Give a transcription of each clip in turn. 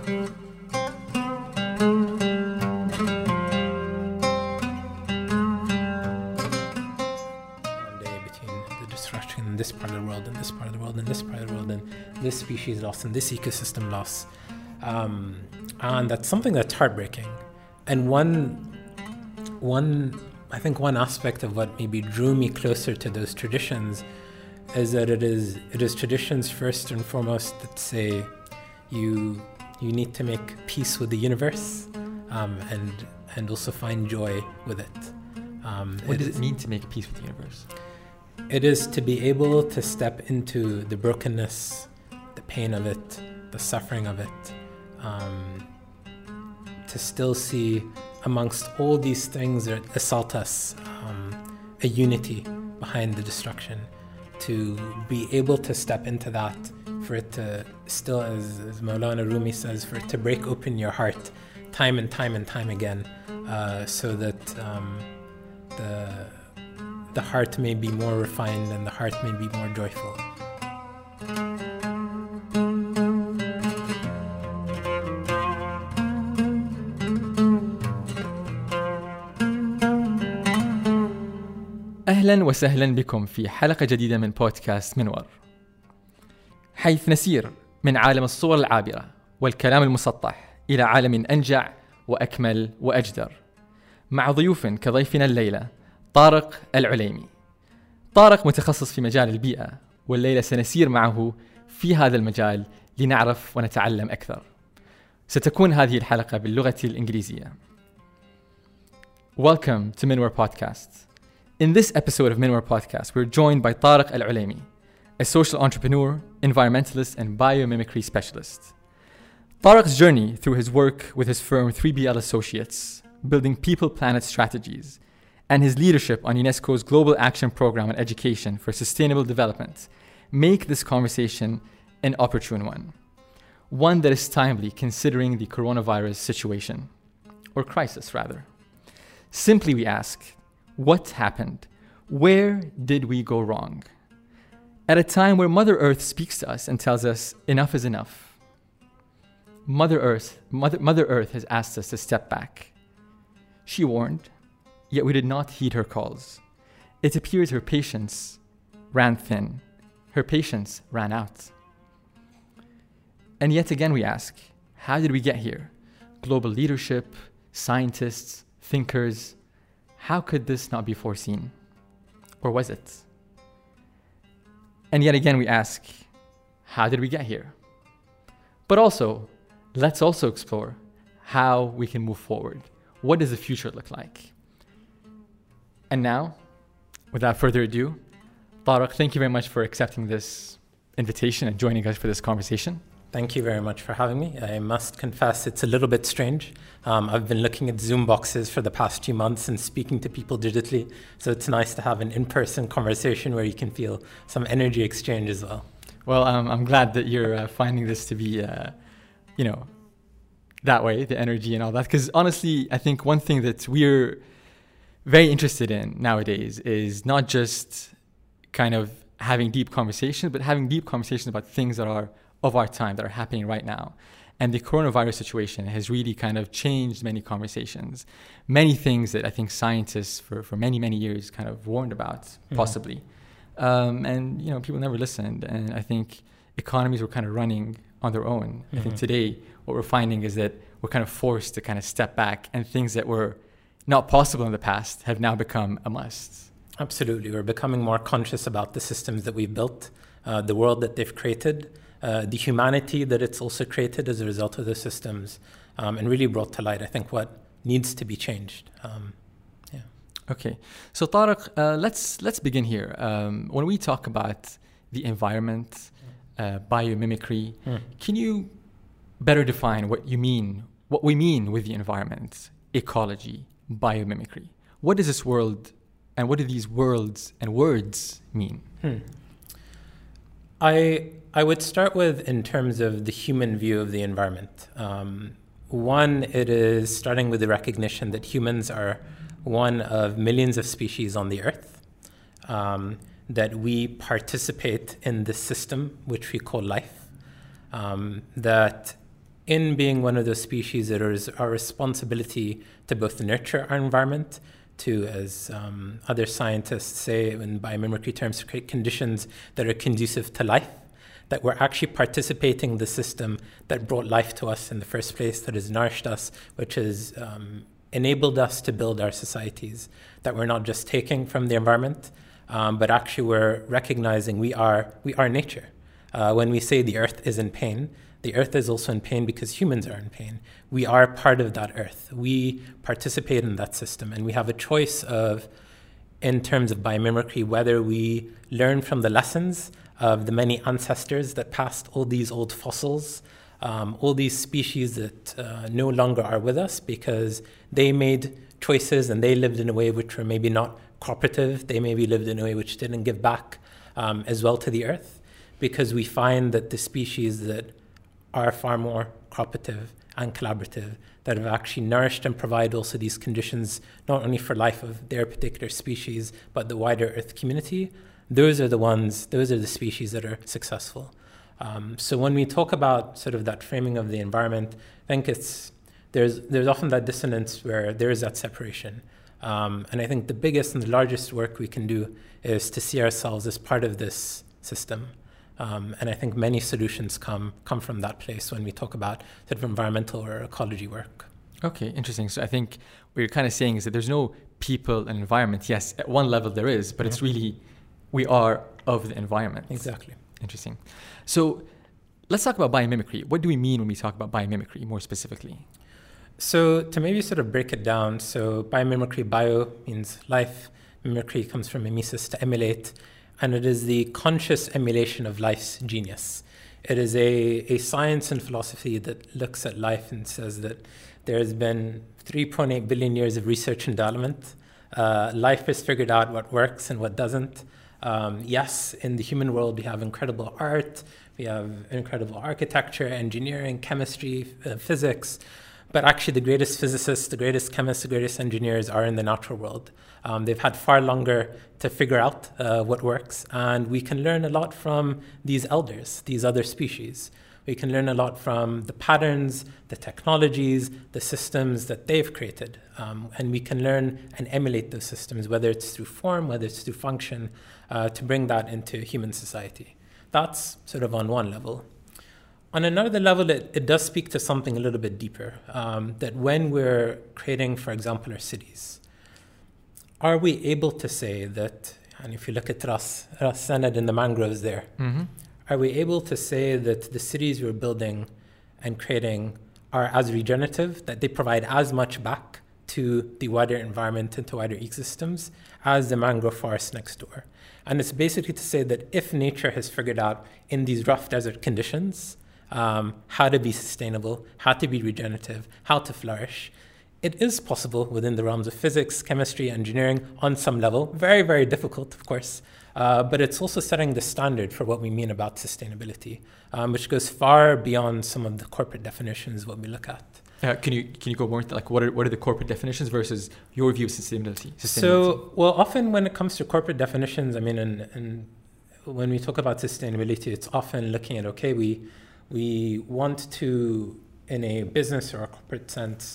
This part of the world and this part of the world and this part of the world and this species loss and this ecosystem loss, and that's something that's heartbreaking. And one aspect of what maybe drew me closer to those traditions is that it is traditions first and foremost that say you need to make peace with the universe, and also find joy with it. What does it mean to make peace with the universe? It is to be able to step into the brokenness, the pain of it, the suffering of it, to still see amongst all these things that assault us, a unity behind the destruction, to be able to step into that, for it to still, as Maulana Rumi says, for it to break open your heart time and time and time again, so that the heart may be more refined and the heart may be more joyful. أهلا وسهلا بكم في حلقة جديدة من بودكاست منور، حيث نسير من عالم الصور العابرة والكلام المسطح إلى عالم أنجع وأكمل وأجدر، مع ضيوف كضيفنا الليلة طارق العليمي. طارق متخصص في مجال البيئة، والليلة سنسير معه في هذا المجال لنعرف ونتعلم أكثر. ستكون هذه الحلقة باللغة الإنجليزية. Welcome to Minwar Podcast. In this episode of Minwar Podcast, we're joined by Tariq Al-Ulaimi, a social entrepreneur, environmentalist, and biomimicry specialist. Tariq's journey through his work with his firm 3BL Associates, building people-planet strategies, and his leadership on UNESCO's Global Action Program on Education for Sustainable Development make this conversation an opportune one that is timely considering the coronavirus situation, or crisis rather. Simply we ask, what happened? Where did we go wrong? At a time where Mother Earth speaks to us and tells us enough is enough. Mother Earth has asked us to step back. She warned, yet we did not heed her calls. It appears her patience ran thin. Her patience ran out. And yet again we ask, how did we get here? Global leadership, scientists, thinkers, how could this not be foreseen? Or was it? And yet again we ask, how did we get here? But also, let's also explore how we can move forward. What does the future look like? And now, without further ado, Tariq, thank you very much for accepting this invitation and joining us for this conversation. Thank you very much for having me. I must confess it's a little bit strange. I've been looking at Zoom boxes for the past few months and speaking to people digitally, so it's nice to have an in-person conversation where you can feel some energy exchange as well. Well, I'm glad that you're finding this to be, that way, the energy and all that, because honestly, I think one thing that we're very interested in nowadays is not just kind of having deep conversations, but having deep conversations about things that are of our time, that are happening right now. And the coronavirus situation has really kind of changed many conversations, many things that I think scientists for many, many years kind of warned about, possibly. And people never listened. And I think economies were kind of running on their own. I think today what we're finding is that we're kind of forced to kind of step back, and things that were not possible in the past have now become a must. Absolutely. We're becoming more conscious about the systems that we've built, the world that they've created, the humanity that it's also created as a result of the systems, and really brought to light, I think, what needs to be changed. Okay. So Tariq, let's begin here. When we talk about the environment, biomimicry, can you better define what we mean with the environment, ecology, biomimicry? What is this world, and what do these worlds and words mean? I would start with in terms of the human view of the environment. One, it is starting with the recognition that humans are one of millions of species on the earth, that we participate in this system which we call life, that in being one of those species, it is our responsibility to both nurture our environment, to, as other scientists say in biomimicry terms, create conditions that are conducive to life, that we're actually participating in the system that brought life to us in the first place, that has nourished us, which has enabled us to build our societies, that we're not just taking from the environment, but actually we're recognizing we are nature. When we say the earth is in pain, the earth is also in pain because humans are in pain. We are part of that earth. We participate in that system, and we have a choice of, in terms of biomimicry, whether we learn from the lessons of the many ancestors that passed all these old fossils, all these species that no longer are with us because they made choices and they lived in a way which were maybe not cooperative. They maybe lived in a way which didn't give back as well to the earth, because we find that the species that are far more cooperative and collaborative, that have actually nourished and provide also these conditions, not only for life of their particular species, but the wider earth community, those are the species that are successful. So when we talk about sort of that framing of the environment, I think there's often that dissonance where there is that separation. And I think the biggest and the largest work we can do is to see ourselves as part of this system. And I think many solutions come from that place when we talk about sort of environmental or ecology work. Okay, interesting. So I think what you're kind of saying is that there's no people and environment. Yes, at one level there is, but it's really, we are of the environment. Exactly. Interesting. So let's talk about biomimicry. What do we mean when we talk about biomimicry more specifically? So to maybe sort of break it down, so biomimicry, bio means life, mimicry comes from mimesis, to emulate, and it is the conscious emulation of life's genius. It is a science and philosophy that looks at life and says that there has been 3.8 billion years of research and development. Life has figured out what works and what doesn't. Yes, in the human world, we have incredible art, we have incredible architecture, engineering, chemistry, physics, but actually the greatest physicists, the greatest chemists, the greatest engineers are in the natural world. They've had far longer to figure out what works, and we can learn a lot from these elders, these other species. We can learn a lot from the patterns, the technologies, the systems that they've created. And we can learn and emulate those systems, whether it's through form, whether it's through function, to bring that into human society. That's sort of on one level. On another level, it does speak to something a little bit deeper, that when we're creating, for example, our cities, are we able to say that, and if you look at Ras Sanad and the mangroves there, are we able to say that the cities we're building and creating are as regenerative, that they provide as much back to the wider environment and to wider ecosystems as the mangrove forest next door? And it's basically to say that if nature has figured out in these rough desert conditions how to be sustainable, how to be regenerative, how to flourish, it is possible within the realms of physics, chemistry, engineering on some level. Very, very difficult, of course. But it's also setting the standard for what we mean about sustainability, which goes far beyond some of the corporate definitions what we look at. Can you go more into like what are the corporate definitions versus your view of sustainability? So, well, often when it comes to corporate definitions, I mean, and when we talk about sustainability, it's often looking at, okay, we want to, in a business or a corporate sense,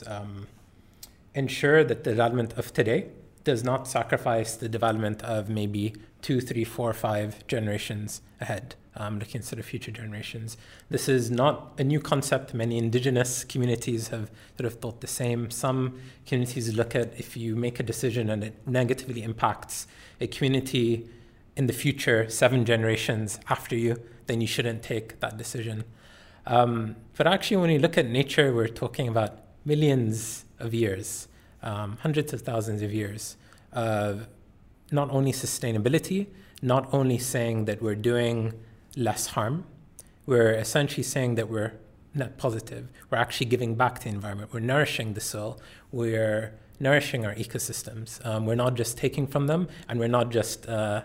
ensure that the development of today does not sacrifice the development of maybe 2, 3, 4, 5 generations ahead, looking at sort of future generations. This is not a new concept. Many indigenous communities have sort of thought the same. Some communities look at if you make a decision and it negatively impacts a community in the future, 7 generations after you, then you shouldn't take that decision. But actually, when you look at nature, we're talking about millions of years, hundreds of thousands of years of not only sustainability, not only saying that we're doing less harm, we're essentially saying that we're net positive. We're actually giving back to the environment. We're nourishing the soil. We're nourishing our ecosystems. We're not just taking from them, and we're not just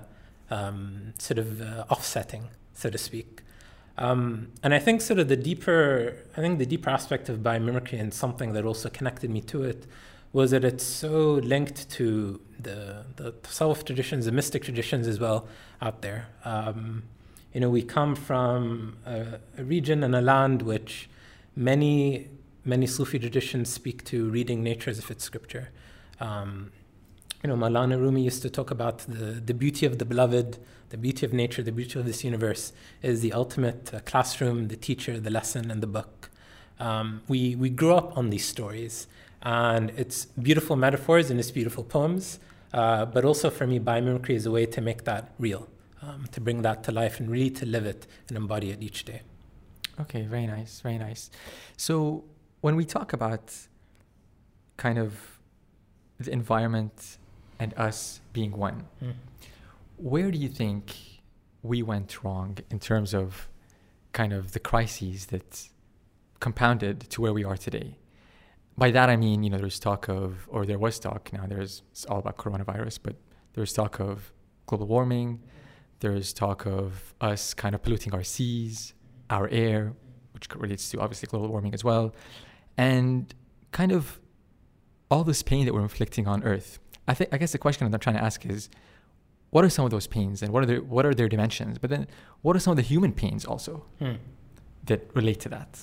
offsetting, so to speak. And I think sort of the deeper aspect of biomimicry, and something that also connected me to it, was that it's so linked to the Tasawwuf traditions, the mystic traditions as well out there. We come from a region and a land which many Sufi traditions speak to reading nature as if it's scripture. Maulana Rumi used to talk about the beauty of the beloved, the beauty of nature, the beauty of this universe is the ultimate classroom, the teacher, the lesson, and the book. We grew up on these stories, and it's beautiful metaphors and it's beautiful poems, but also for me, biomimicry is a way to make that real, to bring that to life and really to live it and embody it each day. Okay, very nice, very nice. So when we talk about kind of the environment and us being one, where do you think we went wrong in terms of kind of the crises that compounded to where we are today? By that I mean, there's talk of, or there was talk, now it's all about coronavirus, but there's talk of global warming, there's talk of us kind of polluting our seas, our air, which relates to obviously global warming as well, and kind of all this pain that we're inflicting on Earth. I guess the question that I'm trying to ask is, what are some of those pains and what are their dimensions? But then what are some of the human pains also that relate to that?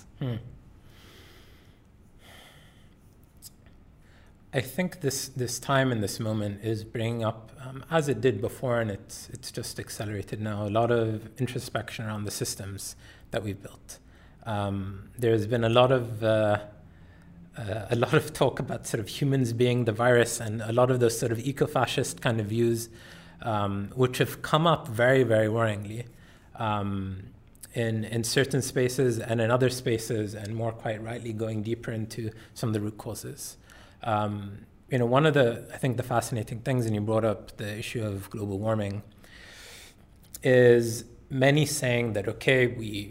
I think this time and this moment is bringing up, as it did before, and it's just accelerated now, a lot of introspection around the systems that we've built. There's been a lot of talk about sort of humans being the virus, and a lot of those sort of eco-fascist kind of views, which have come up very, very worryingly in certain spaces and in other spaces, and more quite rightly going deeper into some of the root causes. One of I think the fascinating things, and you brought up the issue of global warming, is many saying that, okay,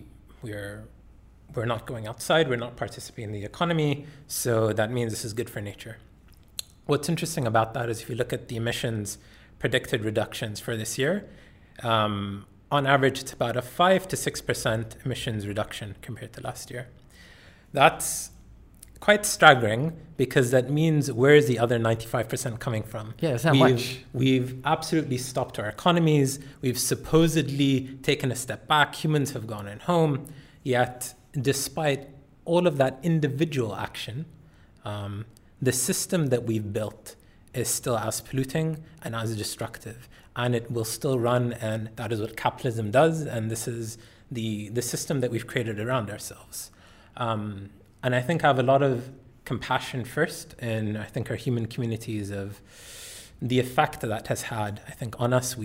we're not going outside, we're not participating in the economy, so that means this is good for nature. What's interesting about that is if you look at the emissions predicted reductions for this year, on average, it's about a 5 to 6% emissions reduction compared to last year. That's quite staggering, because that means where's the other 95% coming from? Yeah, it's not much. We've absolutely stopped our economies. We've supposedly taken a step back. Humans have gone in home. Yet, despite all of that individual action, the system that we've built is still as polluting and as destructive. And it will still run, and that is what capitalism does. And this is the system that we've created around ourselves. And I think I have a lot of compassion first in, I think, our human communities of the effect that has had, I think, on us.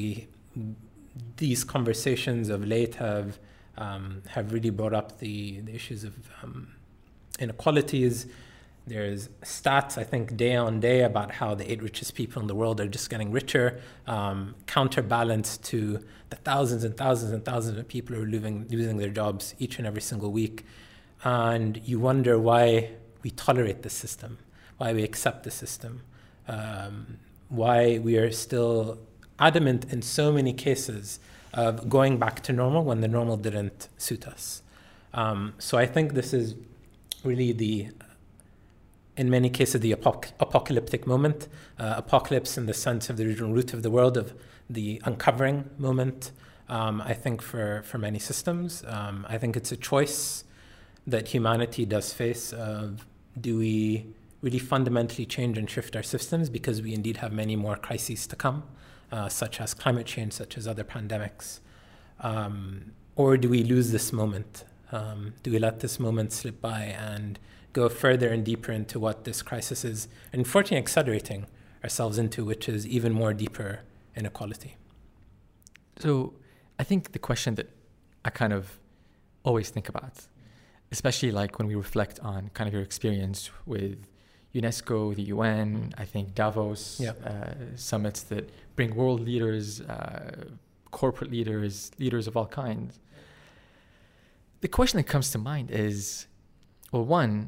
These conversations of late have really brought up the issues of inequalities. There's stats, I think, day on day about how the 8 richest people in the world are just getting richer, counterbalanced to the thousands and thousands and thousands of people who are losing their jobs each and every single week. And you wonder why we tolerate the system, why we accept the system, why we are still adamant in so many cases of going back to normal when the normal didn't suit us. So I think this is really in many cases, the apocalyptic moment, apocalypse in the sense of the original root of the world, of the uncovering moment, I think for many systems. I think it's a choice that humanity does face of, do we really fundamentally change and shift our systems because we indeed have many more crises to come, such as climate change, such as other pandemics, or do we lose this moment? Do we let this moment slip by and go further and deeper into what this crisis is, unfortunately accelerating ourselves into, which is even more deeper inequality? So I think the question that I kind of always think about, especially like when we reflect on kind of your experience with UNESCO, the UN, I think Davos, summits that bring world leaders, corporate leaders, leaders of all kinds. The question that comes to mind is, well, one,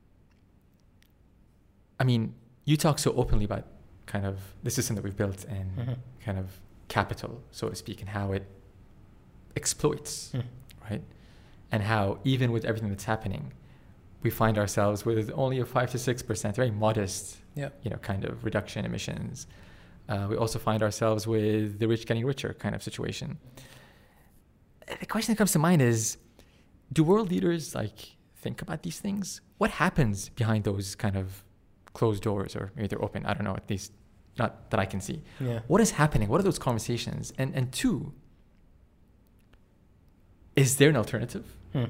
I mean, you talk so openly about kind of the system that we've built and kind of capital, so to speak, and how it exploits, right? And how even with everything that's happening, we find ourselves with only a 5 to 6%, very modest, kind of reduction in emissions. We also find ourselves with the rich getting richer kind of situation. The question that comes to mind is, do world leaders think about these things? What happens behind those kind of closed doors, or maybe they're open? I don't know, at least not that I can see. Yeah. What is happening? What are those conversations? And two, is there an alternative?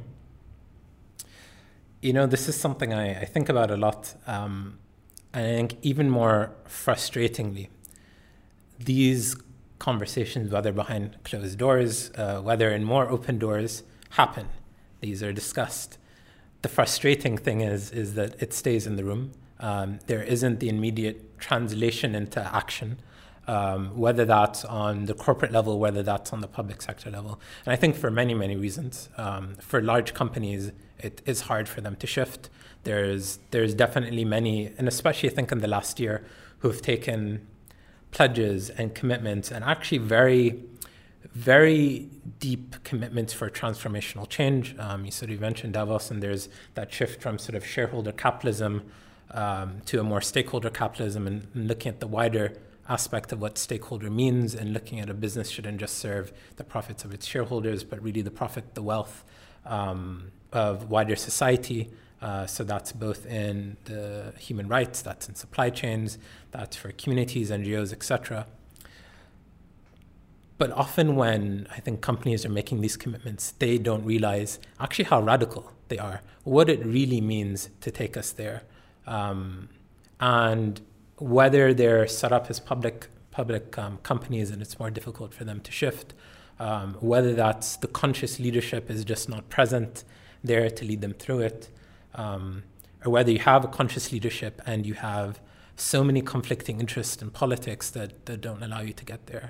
You know, this is something I think about a lot. I think even more frustratingly, these conversations, whether behind closed doors, whether in more open doors, happen. These are discussed. The frustrating thing is that it stays in the room. There isn't the immediate translation into action, whether that's on the corporate level, whether that's on the public sector level. And I think for many, many reasons. For large companies, it is hard for them to shift. There's definitely many, and especially I think in the last year, who have taken pledges and commitments and actually very, very deep commitments for transformational change. You sort of mentioned Davos, and there's that shift from sort of shareholder capitalism to a more stakeholder capitalism, and looking at the wider aspect of what stakeholder means, and looking at a business shouldn't just serve the profits of its shareholders, but really the profit, the wealth of wider society. So that's both in the human rights, that's in supply chains, that's for communities, NGOs, etc. But often when I think companies are making these commitments, they don't realize actually how radical they are, what it really means to take us there. And whether they're set up as public companies and it's more difficult for them to shift, whether that's the conscious leadership is just not present there to lead them through it, or whether you have a conscious leadership and you have so many conflicting interests in politics that don't allow you to get there.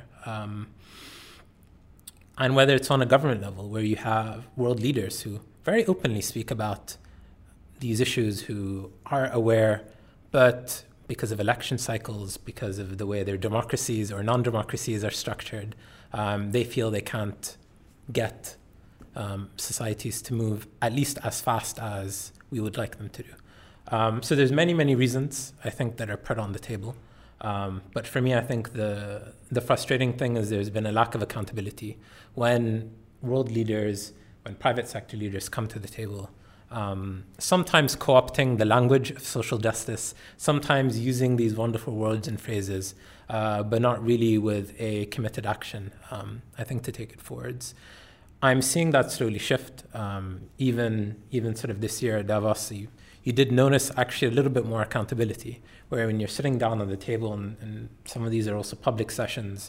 And whether it's on a government level where you have world leaders who very openly speak about these issues, who are aware, but because of election cycles, because of the way their democracies or non-democracies are structured, they feel they can't get societies to move at least as fast as we would like them to do. So there's many, many reasons, I think, that are put on the table. But for me, I think the frustrating thing is there's been a lack of accountability. When world leaders, when private sector leaders come to the table, sometimes co-opting the language of social justice, sometimes using these wonderful words and phrases, but not really with a committed action, I think, to take it forwards. I'm seeing that slowly shift. Even sort of this year at Davos, you did notice actually a little bit more accountability, where when you're sitting down on the table, and some of these are also public sessions,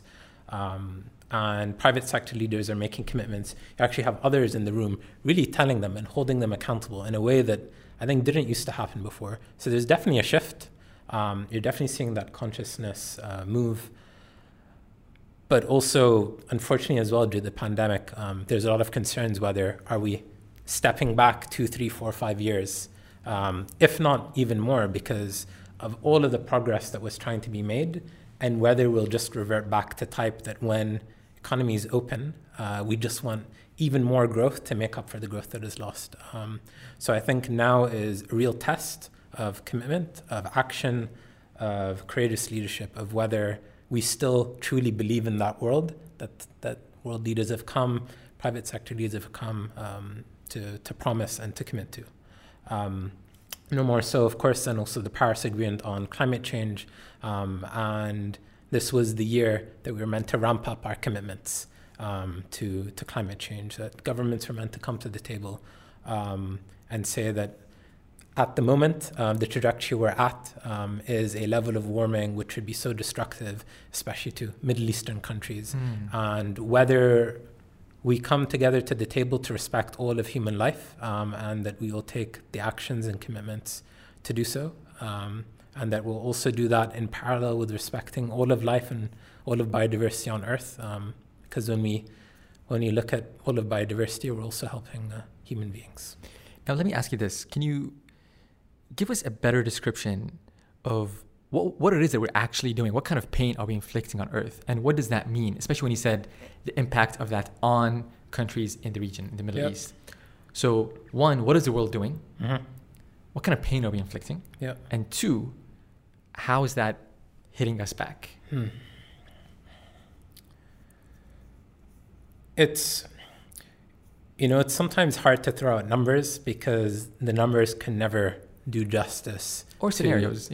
and private sector leaders are making commitments, you actually have others in the room really telling them and holding them accountable in a way that I think didn't used to happen before. So there's definitely a shift. You're definitely seeing that consciousness move. But also, unfortunately as well, due to the pandemic, there's a lot of concerns whether are we stepping back 2, 3, 4, 5 years, if not even more, because of all of the progress that was trying to be made, and whether we'll just revert back to type that when economies open, we just want even more growth to make up for the growth that is lost. So I think now is a real test of commitment, of action, of courageous leadership, of whether we still truly believe in that world, that world leaders have come, private sector leaders have come to promise and to commit to. No more so, of course, than also the Paris Agreement on climate change. And this was the year that we were meant to ramp up our commitments to climate change, that governments were meant to come to the table and say that at the moment, the trajectory we're at is a level of warming which would be so destructive, especially to Middle Eastern countries. And whether we come together to the table to respect all of human life, and that we will take the actions and commitments to do so, and that we'll also do that in parallel with respecting all of life and all of biodiversity on Earth, because when you look at all of biodiversity, we're also helping human beings. Now, let me ask you this. Can you give us a better description of what it is that we're actually doing? What kind of pain are we inflicting on Earth? And what does that mean? Especially when you said the impact of that on countries in the region, in the Middle East. So one, what is the world doing? Mm-hmm. What kind of pain are we inflicting? And two, how is that hitting us back? It's sometimes hard to throw out numbers because the numbers can never do justice or scenarios,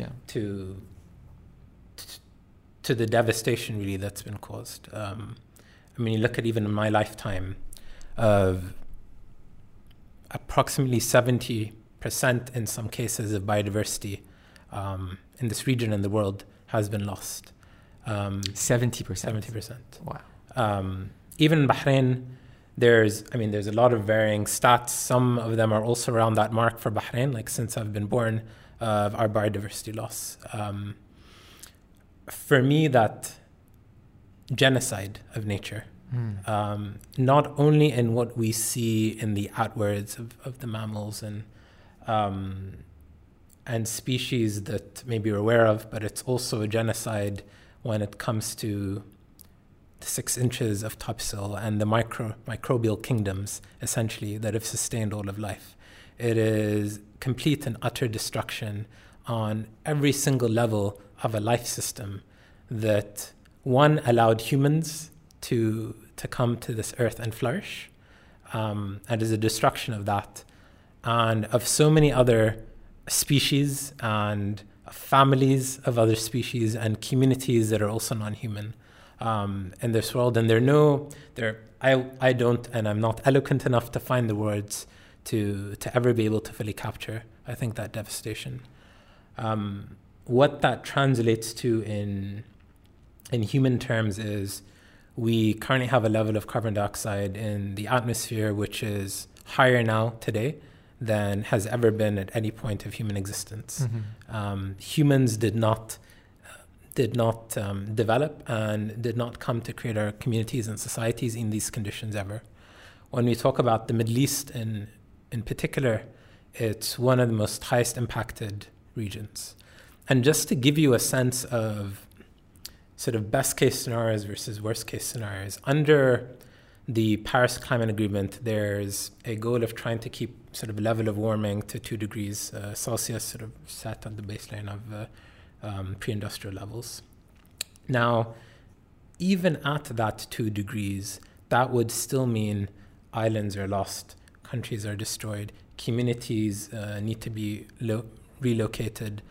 to the devastation really that's been caused. You look at even in my lifetime of approximately 70% in some cases of biodiversity in this region and the world has been lost. 70%. 70%. Wow. Even in Bahrain, there's a lot of varying stats. Some of them are also around that mark for Bahrain, like since I've been born, of our biodiversity loss. For me, that genocide of nature, not only in what we see in the outwards of the mammals and species that maybe we're aware of, but it's also a genocide when it comes to the 6 inches of topsoil and the microbial kingdoms, essentially, that have sustained all of life. It is complete and utter destruction on every single level of a life system that, one, allowed humans to come to this earth and flourish, and is a destruction of that, and of so many other species and families of other species and communities that are also non-human in this world. And I don't, and I'm not eloquent enough to find the words to ever be able to fully capture, I think, that devastation. What that translates to in human terms is we currently have a level of carbon dioxide in the atmosphere which is higher now today than has ever been at any point of human existence. Humans did not develop and did not come to create our communities and societies in these conditions ever. When we talk about the Middle East in particular, it's one of the most highest impacted regions. And just to give you a sense of sort of best case scenarios versus worst case scenarios, under the Paris Climate Agreement, there's a goal of trying to keep sort of level of warming to 2 degrees Celsius, sort of set on the baseline of pre-industrial levels. Now, even at that 2 degrees, that would still mean islands are lost, countries are destroyed, communities need to be relocated.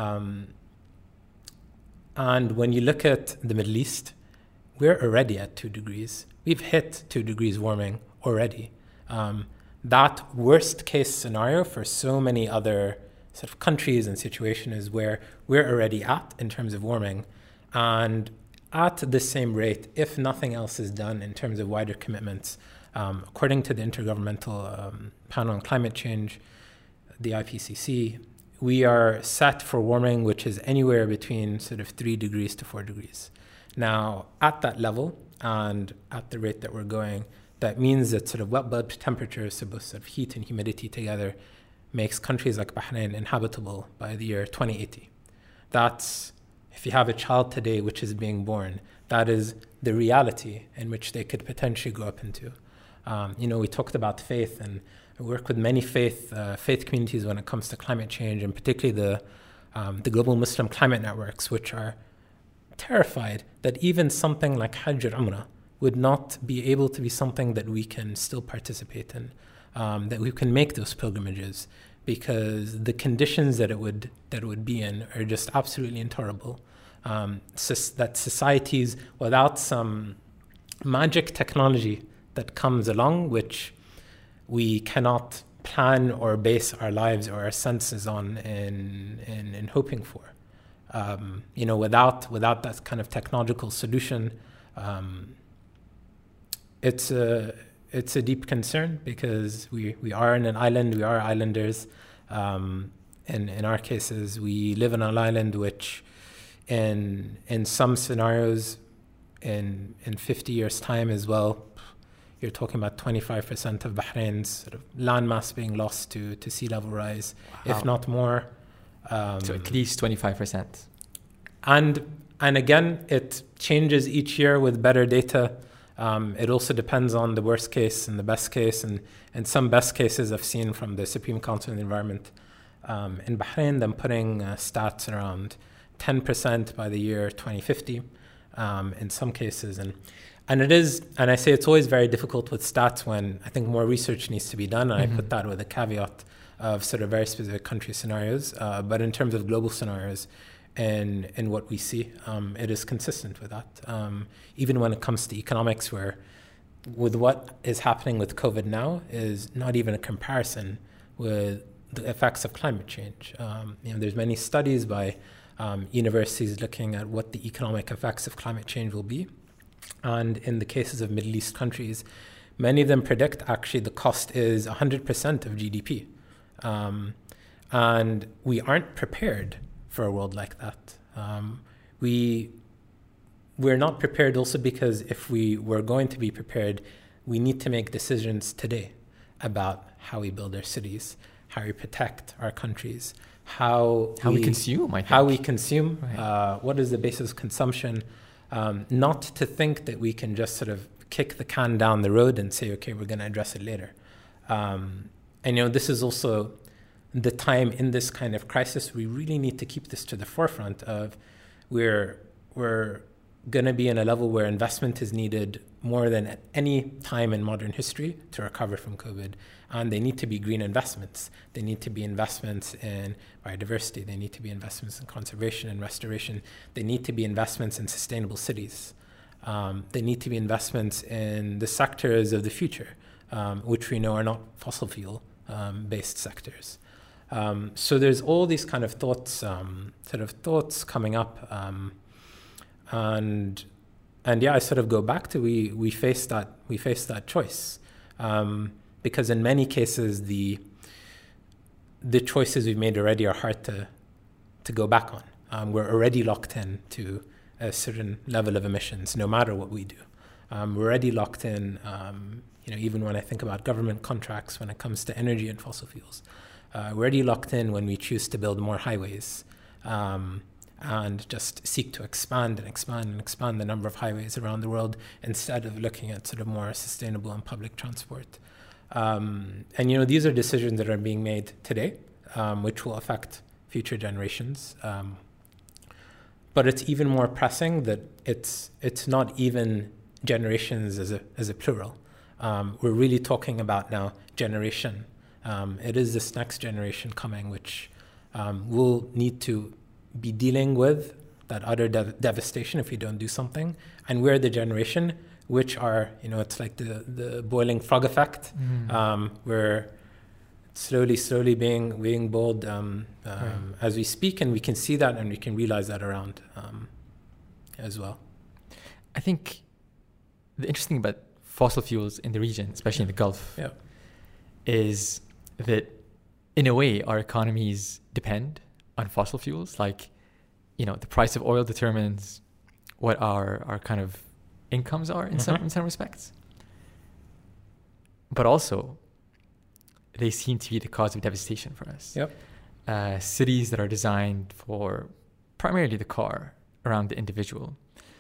And when you look at the Middle East, we're already at 2 degrees. We've hit 2 degrees warming already. That worst case scenario for so many other sort of countries and situations is where we're already at in terms of warming. And at the same rate, if nothing else is done in terms of wider commitments, according to the Intergovernmental Panel on Climate Change, the IPCC, we are set for warming which is anywhere between sort of 3 degrees to 4 degrees. Now, at that level and at the rate that we're going, that means that sort of wet bulb temperatures, so both sort of heat and humidity together, makes countries like Bahrain inhabitable by the year 2080. That's, if you have a child today which is being born, that is the reality in which they could potentially grow up into. We talked about faith, and I work with many faith communities when it comes to climate change, and particularly the global Muslim climate networks, which are terrified that even something like Hajj or Umrah would not be able to be something that we can still participate in, that we can make those pilgrimages, because the conditions that it would be in are just absolutely intolerable. That societies without some magic technology that comes along, which we cannot plan or base our lives or our senses on in hoping for. Without that kind of technological solution, it's a deep concern, because we are in an island, we are islanders. In our cases, we live on an island which in some scenarios in 50 years' time as well, you're talking about 25% of Bahrain's sort of landmass being lost to sea level rise, if not more. So at least 25%. And again, it changes each year with better data. It also depends on the worst case and the best case. And some best cases I've seen from the Supreme Council on the Environment in Bahrain, them putting stats around 10% by the year 2050 in some cases. And And it is, and I say it's always very difficult with stats when I think more research needs to be done. And I put that with a caveat of sort of very specific country scenarios. But in terms of global scenarios and what we see, it is consistent with that. Even when it comes to economics, where with what is happening with COVID now is not even a comparison with the effects of climate change. There's many studies by universities looking at what the economic effects of climate change will be. And in the cases of Middle East countries, many of them predict actually the cost is 100% of GDP. And we aren't prepared for a world like that. We're not prepared also because if we were going to be prepared, we need to make decisions today about how we build our cities, how we protect our countries, how we consume, I think. How we consume, right. What is the basis of consumption? Not to think that we can just sort of kick the can down the road and say, okay, we're going to address it later. And this is also the time in this kind of crisis, we really need to keep this to the forefront of we're going to be in a level where investment is needed more than at any time in modern history to recover from COVID. And they need to be green investments. They need to be investments in biodiversity. They need to be investments in conservation and restoration. They need to be investments in sustainable cities. They need to be investments in the sectors of the future, which we know are not fossil fuel based sectors. So there's all these kind of thoughts coming up. And I sort of go back to we face that choice. Because in many cases the choices we've made already are hard to go back on. We're already locked in to a certain level of emissions, no matter what we do. We're already locked in, even when I think about government contracts when it comes to energy and fossil fuels. We're already locked in when we choose to build more highways and just seek to expand the number of highways around the world instead of looking at sort of more sustainable and public transport. These are decisions that are being made today, which will affect future generations. But it's even more pressing that it's not even generations as a plural. We're really talking about now generation. It is this next generation coming, which will need to be dealing with that utter devastation if we don't do something. And we're the generation which are, it's like the boiling frog effect. We're slowly being boiled as we speak, and we can see that and we can realize that around as well. I think the interesting about fossil fuels in the region, especially in the Gulf, is that in a way our economies depend on fossil fuels. Like, the price of oil determines what our kind of incomes are in some respects. But also, they seem to be the cause of devastation for us. Cities that are designed for primarily the car, around the individual,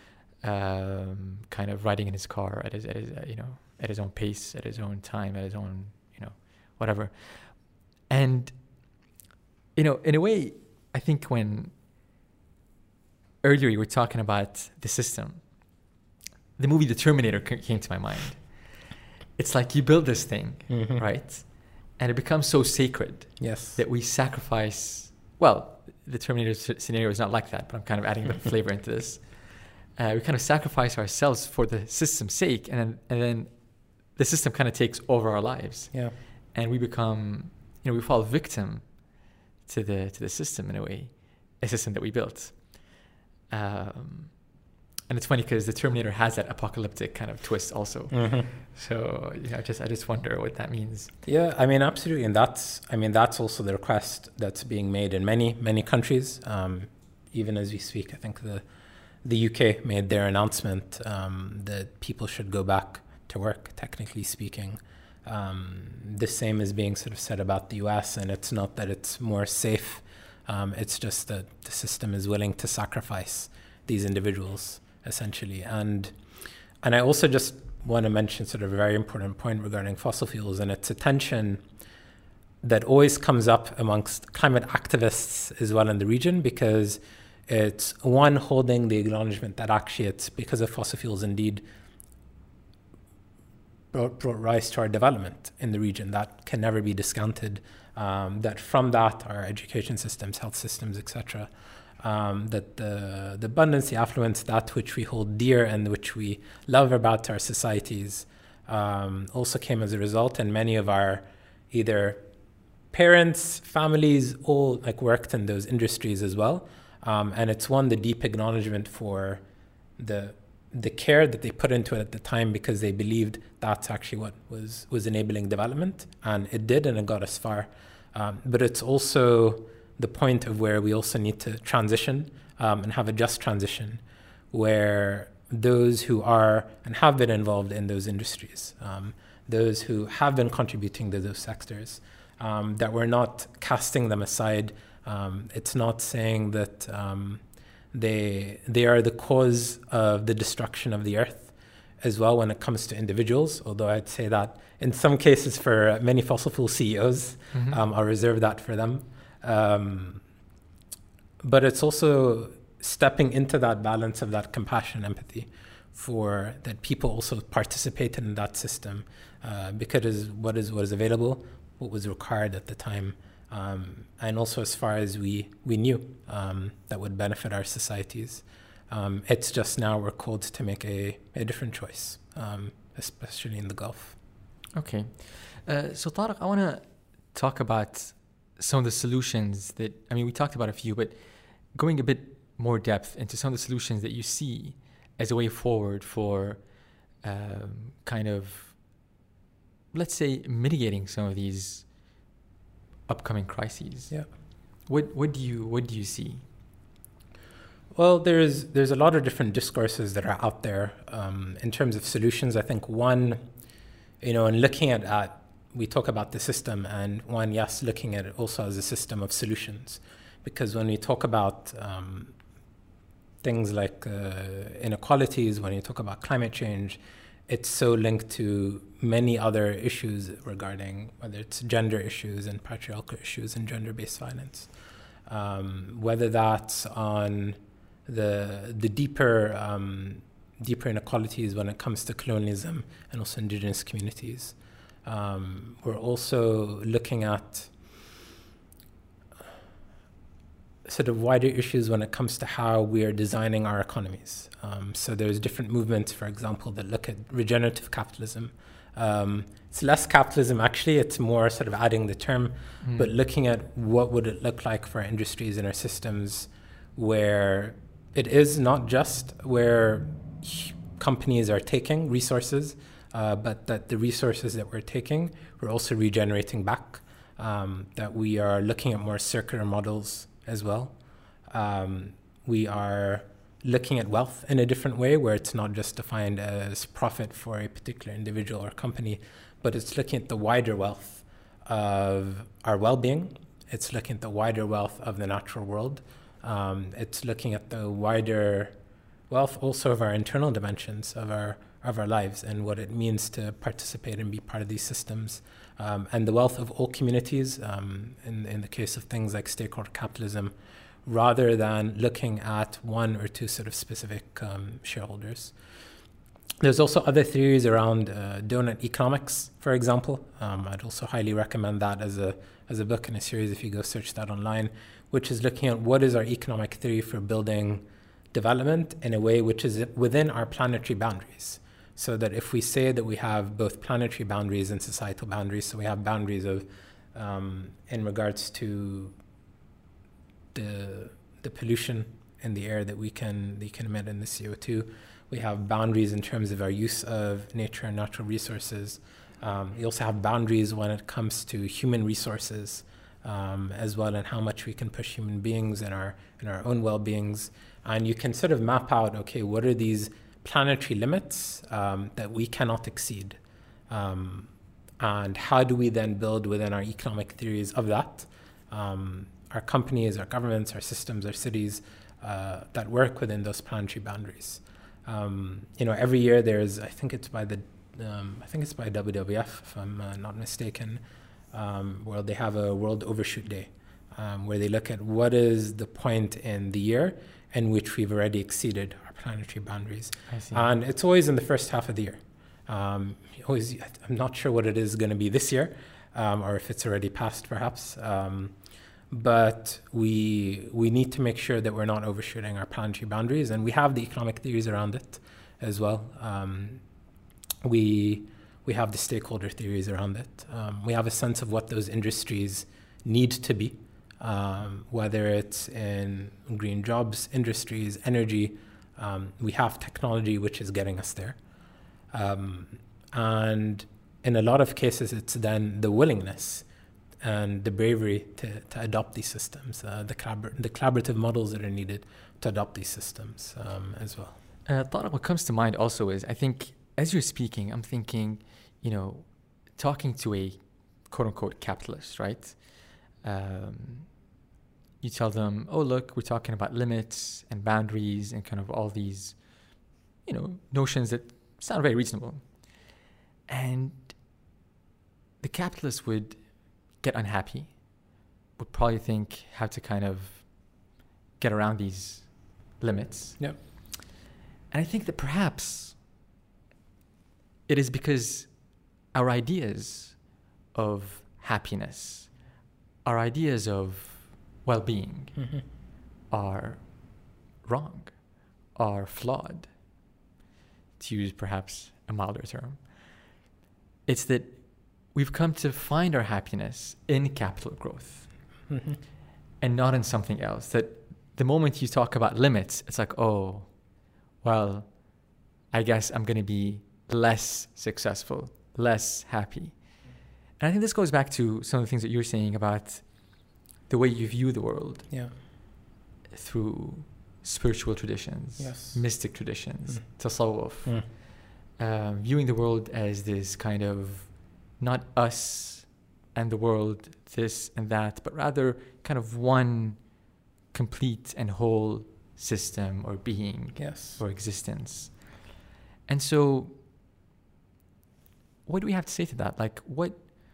kind of riding in his car at his own pace, at his own time, at his own whatever. And in a way, I think when earlier you were talking about the system, the movie The Terminator came to my mind. It's like you build this thing, right? And it becomes so sacred that we sacrifice. Well, the Terminator scenario is not like that, but I'm kind of adding a bit of flavor into this. We kind of sacrifice ourselves for the system's sake, and then the system kind of takes over our lives. And we become, we fall victim to the system in a way, a system that we built. And it's funny because the Terminator has that apocalyptic kind of twist also. So I just wonder what that means. Yeah, I mean, absolutely. And that's also the request that's being made in many countries. Even as we speak, I think the UK made their announcement that people should go back to work, technically speaking. The same is being sort of said about the US, and it's not that it's more safe. It's just that the system is willing to sacrifice these individuals, essentially. And I also just want to mention sort of a very important point regarding fossil fuels, and it's a tension that always comes up amongst climate activists as well in the region, because it's one holding the acknowledgement that actually it's because of fossil fuels indeed brought rise to our development in the region. That can never be discounted. That from that, our education systems, health systems, etc., that the abundance, the affluence, that which we hold dear and which we love about our societies, also came as a result. And many of our either parents, families, all like worked in those industries as well. And it's the deep acknowledgement for the care that they put into it at the time, because they believed that's actually what was enabling development, and it did, and it got us far. But it's also the point of where we also need to transition and have a just transition, where those who are and have been involved in those industries, those who have been contributing to those sectors, that we're not casting them aside. It's not saying that they are the cause of the destruction of the earth as well when it comes to individuals, although I'd say that in some cases for many fossil fuel CEOs, I'll reserve that for them. But it's also stepping into that balance of that compassion, empathy, for that people also participated in that system, because what is available, what was required at the time, and also as far as we knew that would benefit our societies. It's just now we're called to make a different choice, especially in the Gulf. Okay. So Tariq, I want to talk about some of the solutions that, we talked about a few, but going a bit more depth into some of the solutions that you see as a way forward for kind of, let's say, mitigating some of these upcoming crises. Yeah. What do you see? Well, there's a lot of different discourses that are out there in terms of solutions. I think one, in looking at we talk about the system, and one, yes, looking at it also as a system of solutions, because when we talk about things like inequalities, when you talk about climate change, it's so linked to many other issues regarding whether it's gender issues and patriarchal issues and gender-based violence, whether that's on the deeper inequalities when it comes to colonialism and also indigenous communities. We're also looking at sort of wider issues when it comes to how we are designing our economies. So there's different movements, for example, that look at regenerative capitalism. It's less capitalism, actually. It's more sort of adding the term, but looking at what would it look like for our industries and our systems, where it is not just where companies are taking resources, but that the resources that we're taking, we're also regenerating back, that we are looking at more circular models as well. We are looking at wealth in a different way, where it's not just defined as profit for a particular individual or company, but it's looking at the wider wealth of our well-being. It's looking at the wider wealth of the natural world. It's looking at the wider wealth also of our internal dimensions of our lives and what it means to participate and be part of these systems, and the wealth of all communities, in the case of things like stakeholder capitalism, rather than looking at one or two sort of specific shareholders. There's also other theories around donut economics, for example. I'd also highly recommend that as a book and a series if you go search that online, which is looking at what is our economic theory for building development in a way which is within our planetary boundaries. So that if we say that we have both planetary boundaries and societal boundaries, so we have boundaries of in regards to the pollution in the air that we can emit in the CO2. We have boundaries in terms of our use of nature and natural resources. We also have boundaries when it comes to human resources as well, and how much we can push human beings in our own well-beings. And you can sort of map out, okay, what are these planetary limits that we cannot exceed? And how do we then build within our economic theories of that? Our companies, our governments, our systems, our cities that work within those planetary boundaries. Every year there's, I think it's by WWF, if I'm not mistaken, where they have a World Overshoot Day, where they look at what is the point in the year in which we've already exceeded our planetary boundaries. I see. And it's always in the first half of the year. I'm not sure what it is going to be this year, or if it's already passed, perhaps. But we need to make sure that we're not overshooting our planetary boundaries, and we have the economic theories around it as well. We have the stakeholder theories around it. We have a sense of what those industries need to be, whether it's in green jobs, industries, energy. We have technology which is getting us there. And in a lot of cases, it's then the willingness and the bravery to adopt these systems, the collaborative models that are needed to adopt these systems as well. Tariq, what comes to mind also is, I think, as you're speaking, I'm thinking, talking to a quote-unquote capitalist, right? You tell them, oh, look, we're talking about limits and boundaries and kind of all these, notions that sound very reasonable. And the capitalist would get unhappy, would probably think how to kind of get around these limits. Yep. And I think that perhaps it is because our ideas of happiness, our ideas of well-being are wrong, are flawed, to use perhaps a milder term. It's that we've come to find our happiness in capital growth and not in something else. That the moment you talk about limits, it's like, oh, well, I guess I'm going to be less successful, less happy. And I think this goes back to some of the things that you're saying about the way you view the world through spiritual traditions, mystic traditions, tasawwuf, viewing the world as this kind of not us and the world, this and that, but rather kind of one complete and whole system or being or existence. And so what do we have to say to that? Like, what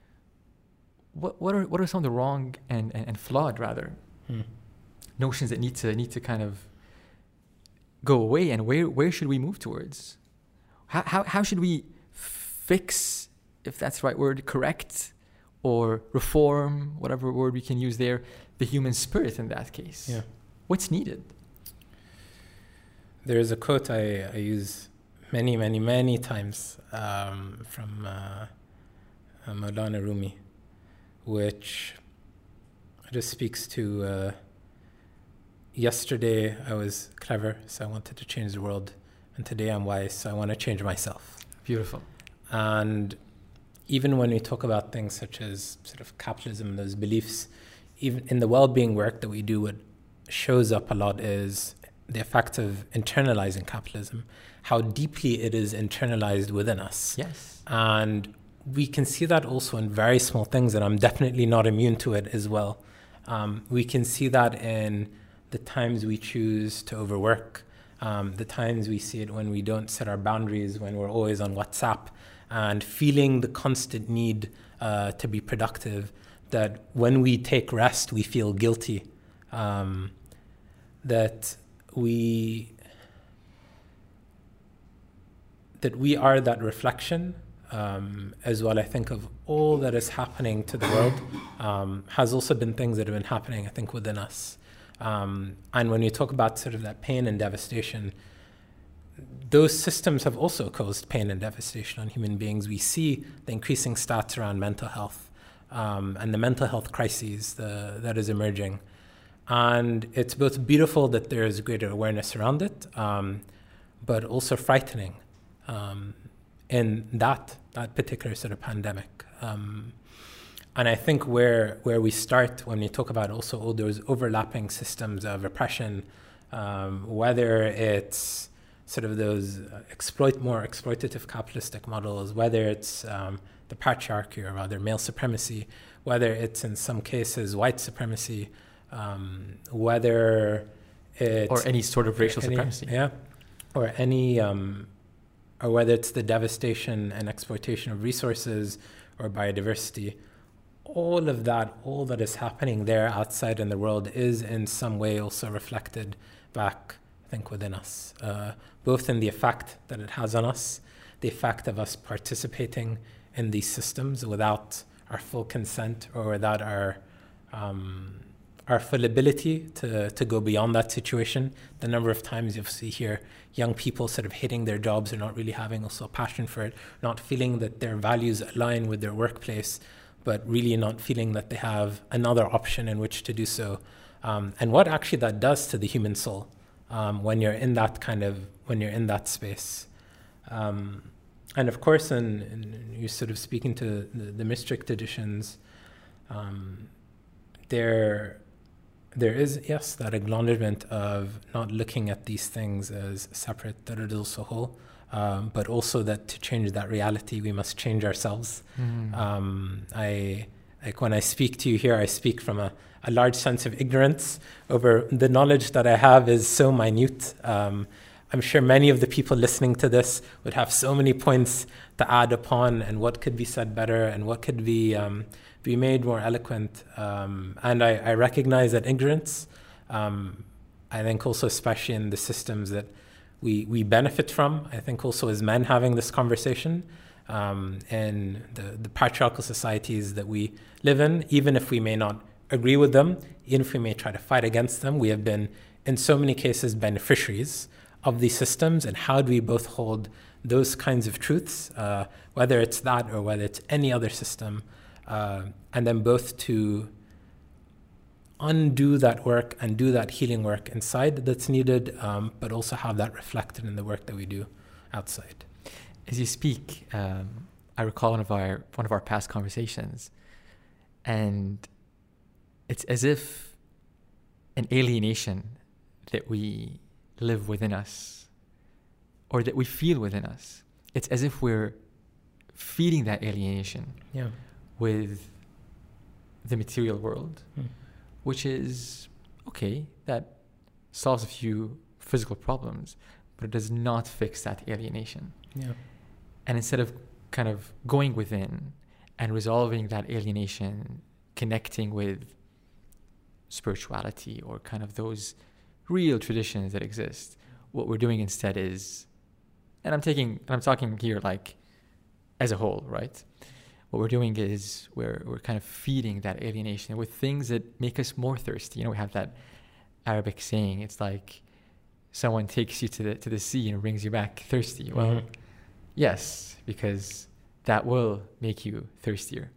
are some of the wrong and flawed, rather, notions that need to kind of go away, and where should we move towards? How should we fix, if that's the right word, correct or reform, whatever word we can use there, the human spirit in that case? Yeah. What's needed? There is a quote I use many times from Maulana Rumi, which just speaks to yesterday I was clever, so I wanted to change the world, and today I'm wise, so I want to change myself. Beautiful. And even when we talk about things such as sort of capitalism, those beliefs, even in the well-being work that we do, what shows up a lot is the effect of internalizing capitalism, how deeply it is internalized within us. Yes. And we can see that also in very small things, and I'm definitely not immune to it as well. We can see that in the times we choose to overwork, the times we see it when we don't set our boundaries, when we're always on WhatsApp, and feeling the constant need to be productive, that when we take rest, we feel guilty, that we are that reflection as well. I think of all that is happening to the world has also been things that have been happening, I think, within us. And when you talk about sort of that pain and devastation, those systems have also caused pain and devastation on human beings. We see the increasing stats around mental health and the mental health crises that is emerging. And it's both beautiful that there is greater awareness around it, but also frightening in that particular sort of pandemic. And I think where we start when we talk about also all those overlapping systems of oppression, whether it's sort of those more exploitative capitalistic models, whether it's the patriarchy or rather male supremacy, whether it's in some cases white supremacy, whether it's... Or any sort of racial supremacy. Yeah, or any... or whether it's the devastation and exploitation of resources or biodiversity, all that is happening there outside in the world is in some way also reflected back, I think, within us, both in the effect that it has on us, the effect of us participating in these systems without our full consent or without our full ability to go beyond that situation. The number of times you'll see here young people sort of hating their jobs or not really having also a passion for it, not feeling that their values align with their workplace, but really not feeling that they have another option in which to do so. And what actually that does to the human soul when you're in that space. And of course, and you're sort of speaking to the Maastricht traditions, there is, yes, that acknowledgement of not looking at these things as separate, but also that to change that reality, we must change ourselves. When I speak to you here, I speak from a large sense of ignorance over the knowledge that I have is so minute. I'm sure many of the people listening to this would have so many points to add upon and what could be said better and what could be made more eloquent. And I recognize that ignorance, I think also especially in the systems that we benefit from, I think also as men having this conversation in the patriarchal societies that we live in, even if we may not agree with them, even if we may try to fight against them, we have been in so many cases beneficiaries of these systems. And how do we both hold those kinds of truths, whether it's that or whether it's any other system, and then both to undo that work and do that healing work inside that's needed, but also have that reflected in the work that we do outside. As you speak, I recall one of our past conversations, and it's as if an alienation that we live within us, or that we feel within us. It's as if we're feeding that alienation with the material world, which is, okay, that solves a few physical problems, but it does not fix that alienation. And instead of kind of going within and resolving that alienation, connecting with spirituality or kind of those real traditions that exist, what we're doing instead is, and I'm talking here like as a whole, right? What we're doing is we're kind of feeding that alienation with things that make us more thirsty. You know, we have that Arabic saying, it's like someone takes you to the sea and brings you back thirsty. Well, yes, because that will make you thirstier.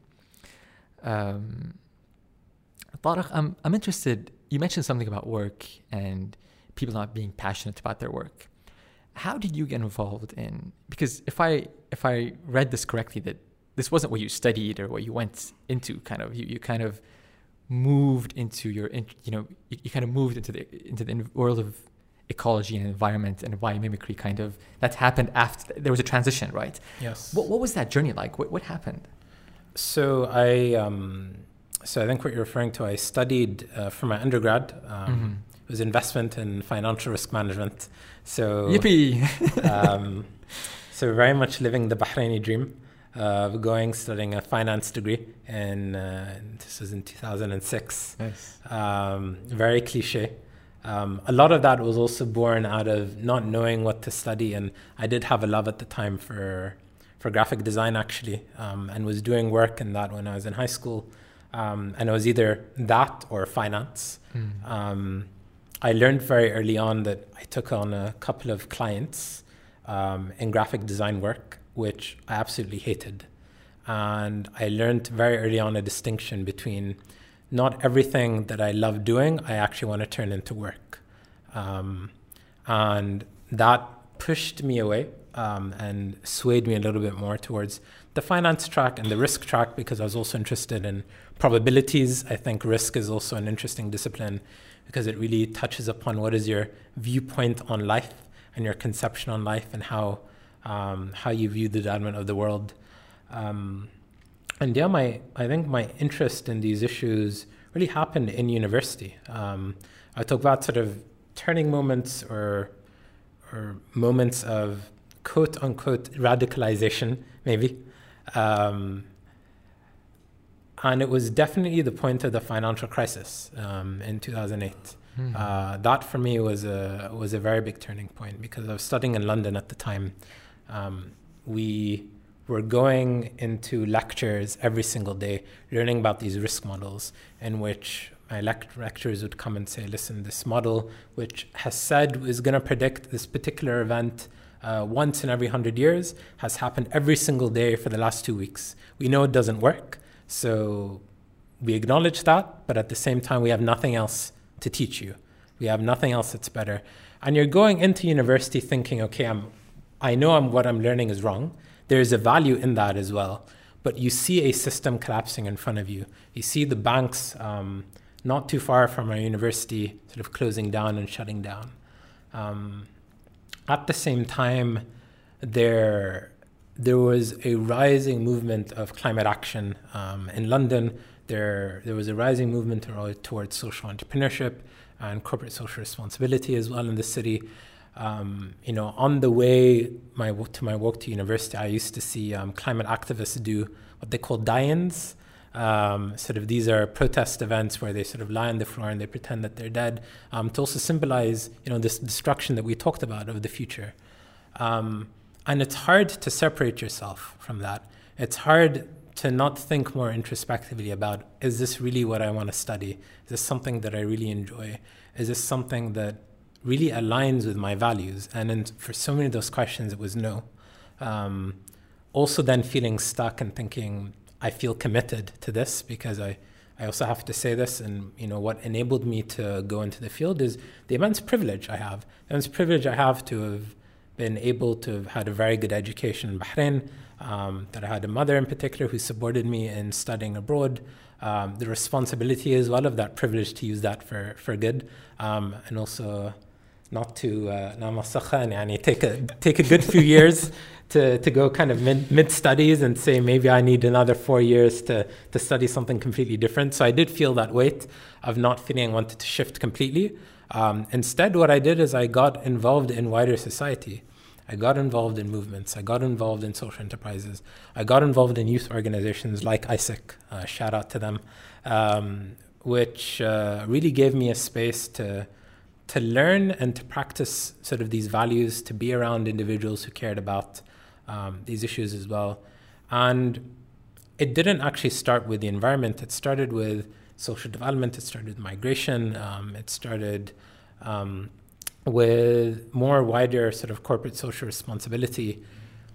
Tariq, I'm interested, you mentioned something about work and people not being passionate about their work. How did you get involved in, because if I read this correctly, that this wasn't what you studied or what you went into, kind of, you kind of moved into you kind of moved into the world of ecology and environment and biomimicry, kind of, that happened after, there was a transition, right? Yes. What was that journey like? What happened? So I think what you're referring to, I studied for my undergrad. It was investment and financial risk management. So yippee! So very much living the Bahraini dream of studying a finance degree, and this was in 2006. Nice. Very cliche. A lot of that was also born out of not knowing what to study, and I did have a love at the time for graphic design, actually, and was doing work in that when I was in high school, and it was either that or finance. I learned very early on that I took on a couple of clients in graphic design work, which I absolutely hated. And I learned very early on a distinction between not everything that I love doing, I actually want to turn into work. And that pushed me away and swayed me a little bit more towards the finance track and the risk track, because I was also interested in probabilities. I think risk is also an interesting discipline because it really touches upon what is your viewpoint on life and your conception on life and how you view the development of the world. And yeah, I think my interest in these issues really happened in university. I talk about sort of turning moments or moments of quote unquote radicalization, maybe. And it was definitely the point of the financial crisis in 2008. That for me was a very big turning point, because I was studying in London at the time. we were going into lectures every single day, learning about these risk models, in which my lecturers would come and say, listen, this model, which has said is going to predict this particular event once in every 100 years, has happened every single day for the last 2 weeks. We know it doesn't work, so we acknowledge that, but at the same time, we have nothing else to teach you. We have nothing else that's better. And you're going into university thinking, okay, I know what I'm learning is wrong. There's a value in that as well. But you see a system collapsing in front of you. You see the banks not too far from our university sort of closing down and shutting down. At the same time, there was a rising movement of climate action in London. There was a rising movement towards social entrepreneurship and corporate social responsibility as well in the city. On the way to my walk to university, I used to see climate activists do what they call die-ins. These are protest events where they sort of lie on the floor and they pretend that they're dead, to also symbolize, this destruction that we talked about of the future. And it's hard to separate yourself from that. It's hard to not think more introspectively about, is this really what I want to study? Is this something that I really enjoy? Is this something that really aligns with my values? And for so many of those questions, it was no. Also then feeling stuck and thinking, I feel committed to this, because I also have to say this, and what enabled me to go into the field is the immense privilege I have. The immense privilege I have to have been able to have had a very good education in Bahrain, that I had a mother in particular who supported me in studying abroad, the responsibility as well of that privilege to use that for good, and also not to take a good few years to go kind of mid studies and say maybe I need another 4 years to study something completely different. So I did feel that weight of not feeling I wanted to shift completely. Instead, what I did is I got involved in wider society. I got involved in movements. I got involved in social enterprises. I got involved in youth organizations like ISIC, shout out to them, which really gave me a space to learn and to practice sort of these values, to be around individuals who cared about these issues as well. And it didn't actually start with the environment. It started with social development. It started with migration. It started with more wider sort of corporate social responsibility.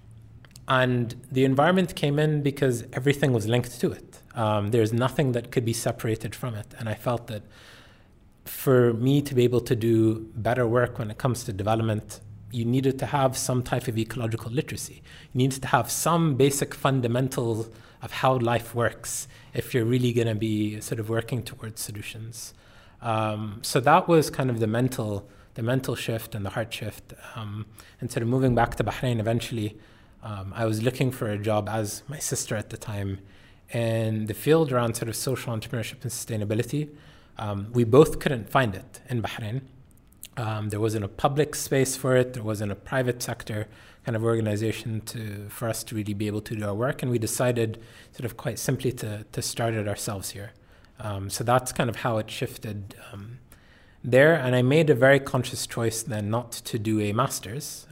And the environment came in because everything was linked to it. There's nothing that could be separated from it. And I felt that for me to be able to do better work when it comes to development, you needed to have some type of ecological literacy. You needed to have some basic fundamentals of how life works if you're really going to be sort of working towards solutions. So that was kind of the mental shift and the heart shift. And sort of moving back to Bahrain eventually, I was looking for a job as my sister at the time in the field around sort of social entrepreneurship and sustainability. We both couldn't find it in Bahrain. There wasn't a public space for it. There wasn't a private sector kind of organization for us to really be able to do our work. And we decided sort of quite simply to start it ourselves here. So that's kind of how it shifted there. And I made a very conscious choice then not to do a master's.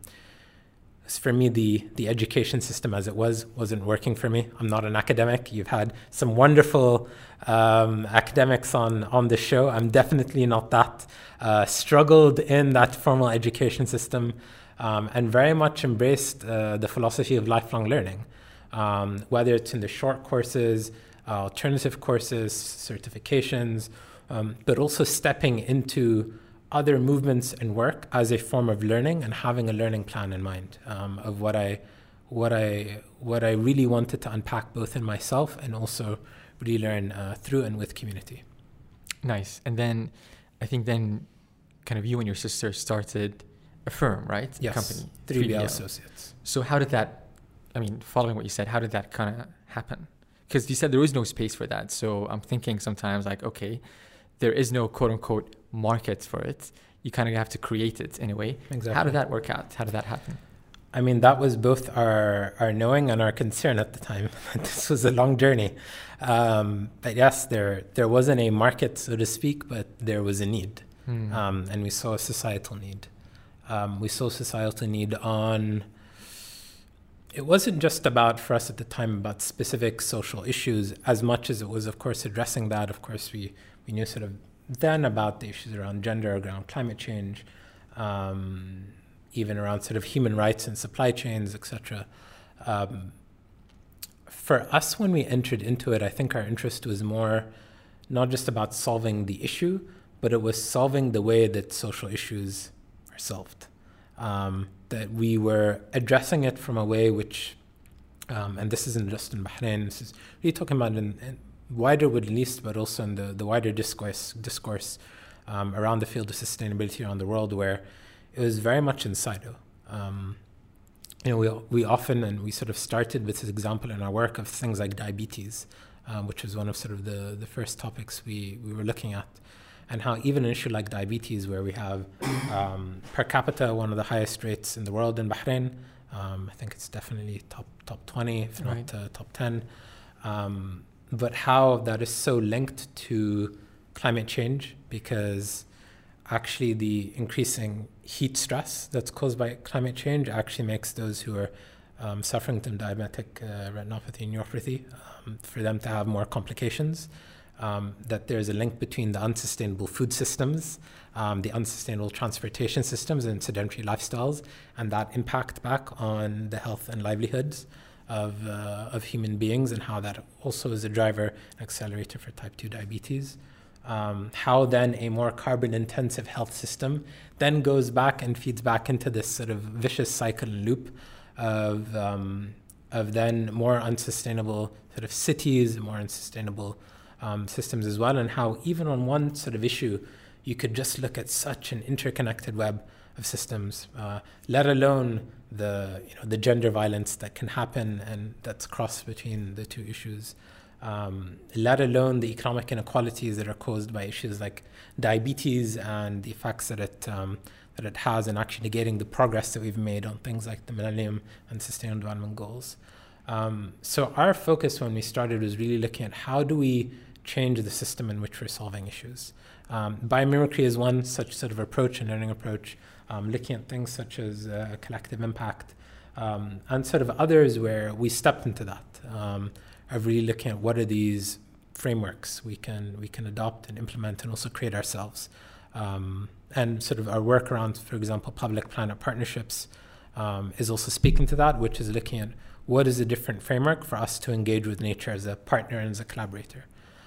For me, the education system as it wasn't working for me. I'm not an academic. You've had some wonderful academics on the show. I'm definitely not that. Struggled in that formal education system and very much embraced the philosophy of lifelong learning, whether it's in the short courses, alternative courses, certifications, but also stepping into other movements and work as a form of learning and having a learning plan in mind of what I really wanted to unpack both in myself and also really learn through and with community. Nice. And then I think then kind of you and your sister started a firm, right? Yes. Company. 3BL Associates. So how did that, following what you said, how did that kind of happen? Because you said there was no space for that. So I'm thinking sometimes like, okay, there is no quote unquote market for it. You kind of have to create it in a way. Exactly. How did that work out? How did that happen? That was both our knowing and our concern at the time. This was a long journey. But yes, there wasn't a market, so to speak, but there was a need. And we saw a societal need. We saw societal need on it wasn't just about, for us at the time, about specific social issues as much as it was, of course, addressing that. Of course, we knew sort of then about the issues around gender, around climate change, even around sort of human rights and supply chains, etc. For us, when we entered into it, I think our interest was more not just about solving the issue, but it was solving the way that social issues are solved. That we were addressing it from a way which, and this isn't just in Bahrain, this is really talking about in wider Middle East, but also in the wider discourse around the field of sustainability around the world, where it was very much in silo. We often, and we sort of started with this example in our work of things like diabetes, which was one of sort of the first topics we were looking at, and how even an issue like diabetes, where we have per capita one of the highest rates in the world in Bahrain, I think it's definitely top 20, if not top 10, but how that is so linked to climate change, because actually the increasing heat stress that's caused by climate change actually makes those who are suffering from diabetic retinopathy and neuropathy, for them to have more complications. That there's a link between the unsustainable food systems, the unsustainable transportation systems and sedentary lifestyles, and that impact back on the health and livelihoods of human beings, and how that also is a driver, an accelerator for type 2 diabetes. How then a more carbon-intensive health system then goes back and feeds back into this sort of vicious cycle and loop of then more unsustainable sort of cities, more unsustainable systems as well, and how even on one sort of issue, you could just look at such an interconnected web of systems, let alone the gender violence that can happen and that's crossed between the two issues. Let alone the economic inequalities that are caused by issues like diabetes and the effects that it has in actually negating the progress that we've made on things like the Millennium and Sustainable Development Goals. So our focus when we started was really looking at how do we change the system in which we're solving issues. Biomimicry is one such sort of approach and learning approach, looking at things such as collective impact, and sort of others where we stepped into that. Of really looking at what are these frameworks we can adopt and implement and also create ourselves. And sort of our work around, for example, public-planet partnerships is also speaking to that, which is looking at what is a different framework for us to engage with nature as a partner and as a collaborator.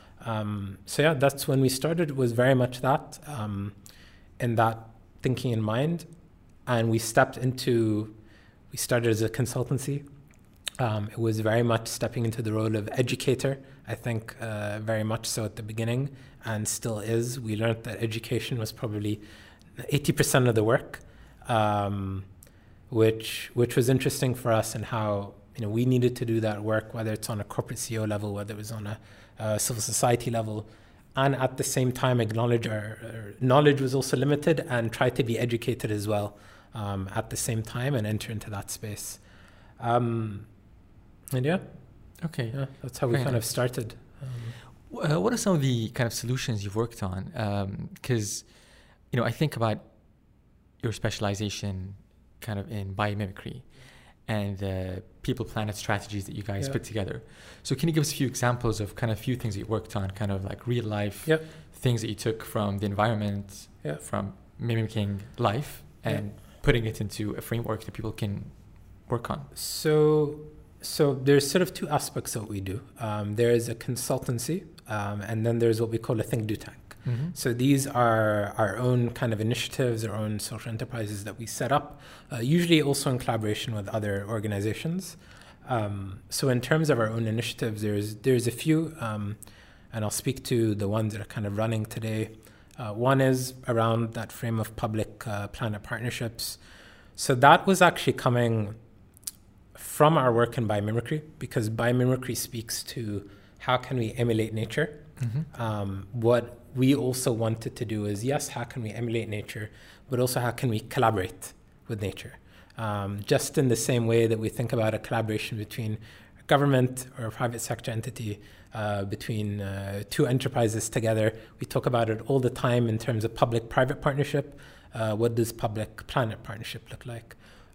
That's when we started. It was very much that, in that thinking in mind. And we started as a consultancy. It was very much stepping into the role of educator, I think, very much so at the beginning, and still is. We learned that education was probably 80% of the work, which was interesting for us, and how we needed to do that work, whether it's on a corporate CEO level, whether it was on a civil society level, and at the same time acknowledge our knowledge was also limited, and try to be educated as well at the same time and enter into that space. That's how we kind of started. What are some of the kind of solutions you've worked on? Because, I think about your specialization kind of in biomimicry and the people-planet strategies that you guys put together. So can you give us a few examples of kind of few things that you worked on, kind of like real life things that you took from the environment, from mimicking life and putting it into a framework that people can work on? So there's sort of two aspects of what we do. There is a consultancy, and then there's what we call a think, do, tank. Mm-hmm. So these are our own kind of initiatives, our own social enterprises that we set up, usually also in collaboration with other organizations. So in terms of our own initiatives, there's a few, and I'll speak to the ones that are kind of running today. One is around that frame of public-planet partnerships. So that was actually coming from our work in biomimicry, because biomimicry speaks to how can we emulate nature. Mm-hmm. What we also wanted to do is, yes, how can we emulate nature, but also how can we collaborate with nature? Just in the same way that we think about a collaboration between a government or a private sector entity, between two enterprises together. We talk about it all the time in terms of public-private partnership. What does public-planet partnership look like?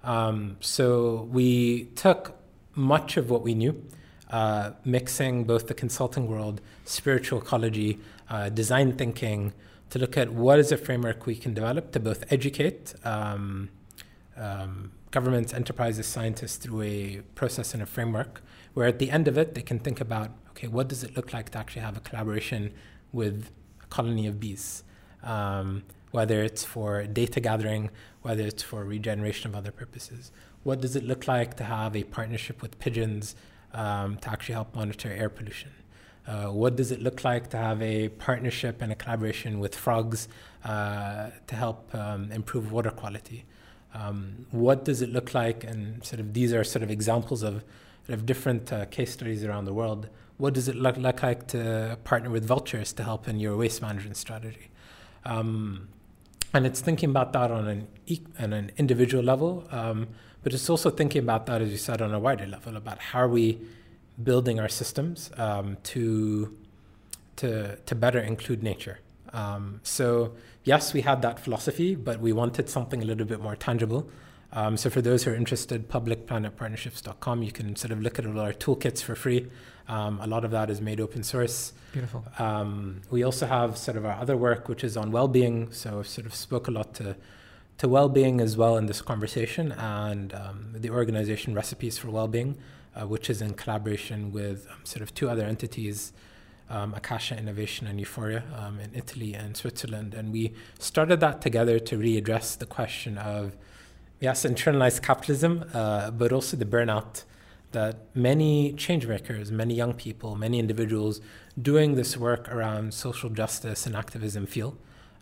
So we took much of what we knew, mixing both the consulting world, spiritual ecology, design thinking, to look at what is a framework we can develop to both educate governments, enterprises, scientists through a process and a framework, where at the end of it, they can think about, okay, what does it look like to actually have a collaboration with a colony of bees? Whether it's for data gathering, whether it's for regeneration of other purposes. What does it look like to have a partnership with pigeons to actually help monitor air pollution? What does it look like to have a partnership and a collaboration with frogs to help improve water quality? What does it look like, and sort of these are sort of examples of different case studies around the world. What does it look like to partner with vultures to help in your waste management strategy? And it's thinking about that on an individual level, but it's also thinking about that, as you said, on a wider level, about how are we building our systems to better include nature. So yes, we had that philosophy, but we wanted something a little bit more tangible. So for those who are interested, publicplanetpartnerships.com, you can sort of look at all our toolkits for free. A lot of that is made open source. Beautiful. We also have sort of our other work, which is on well-being. So I've sort of spoke a lot to well-being as well in this conversation, and the organization Recipes for Wellbeing, which is in collaboration with sort of two other entities, Akasha Innovation and Euphoria in Italy and Switzerland. And we started that together to readdress the question of, yes, internalized capitalism, but also the burnout that many change makers, many young people, many individuals doing this work around social justice and activism feel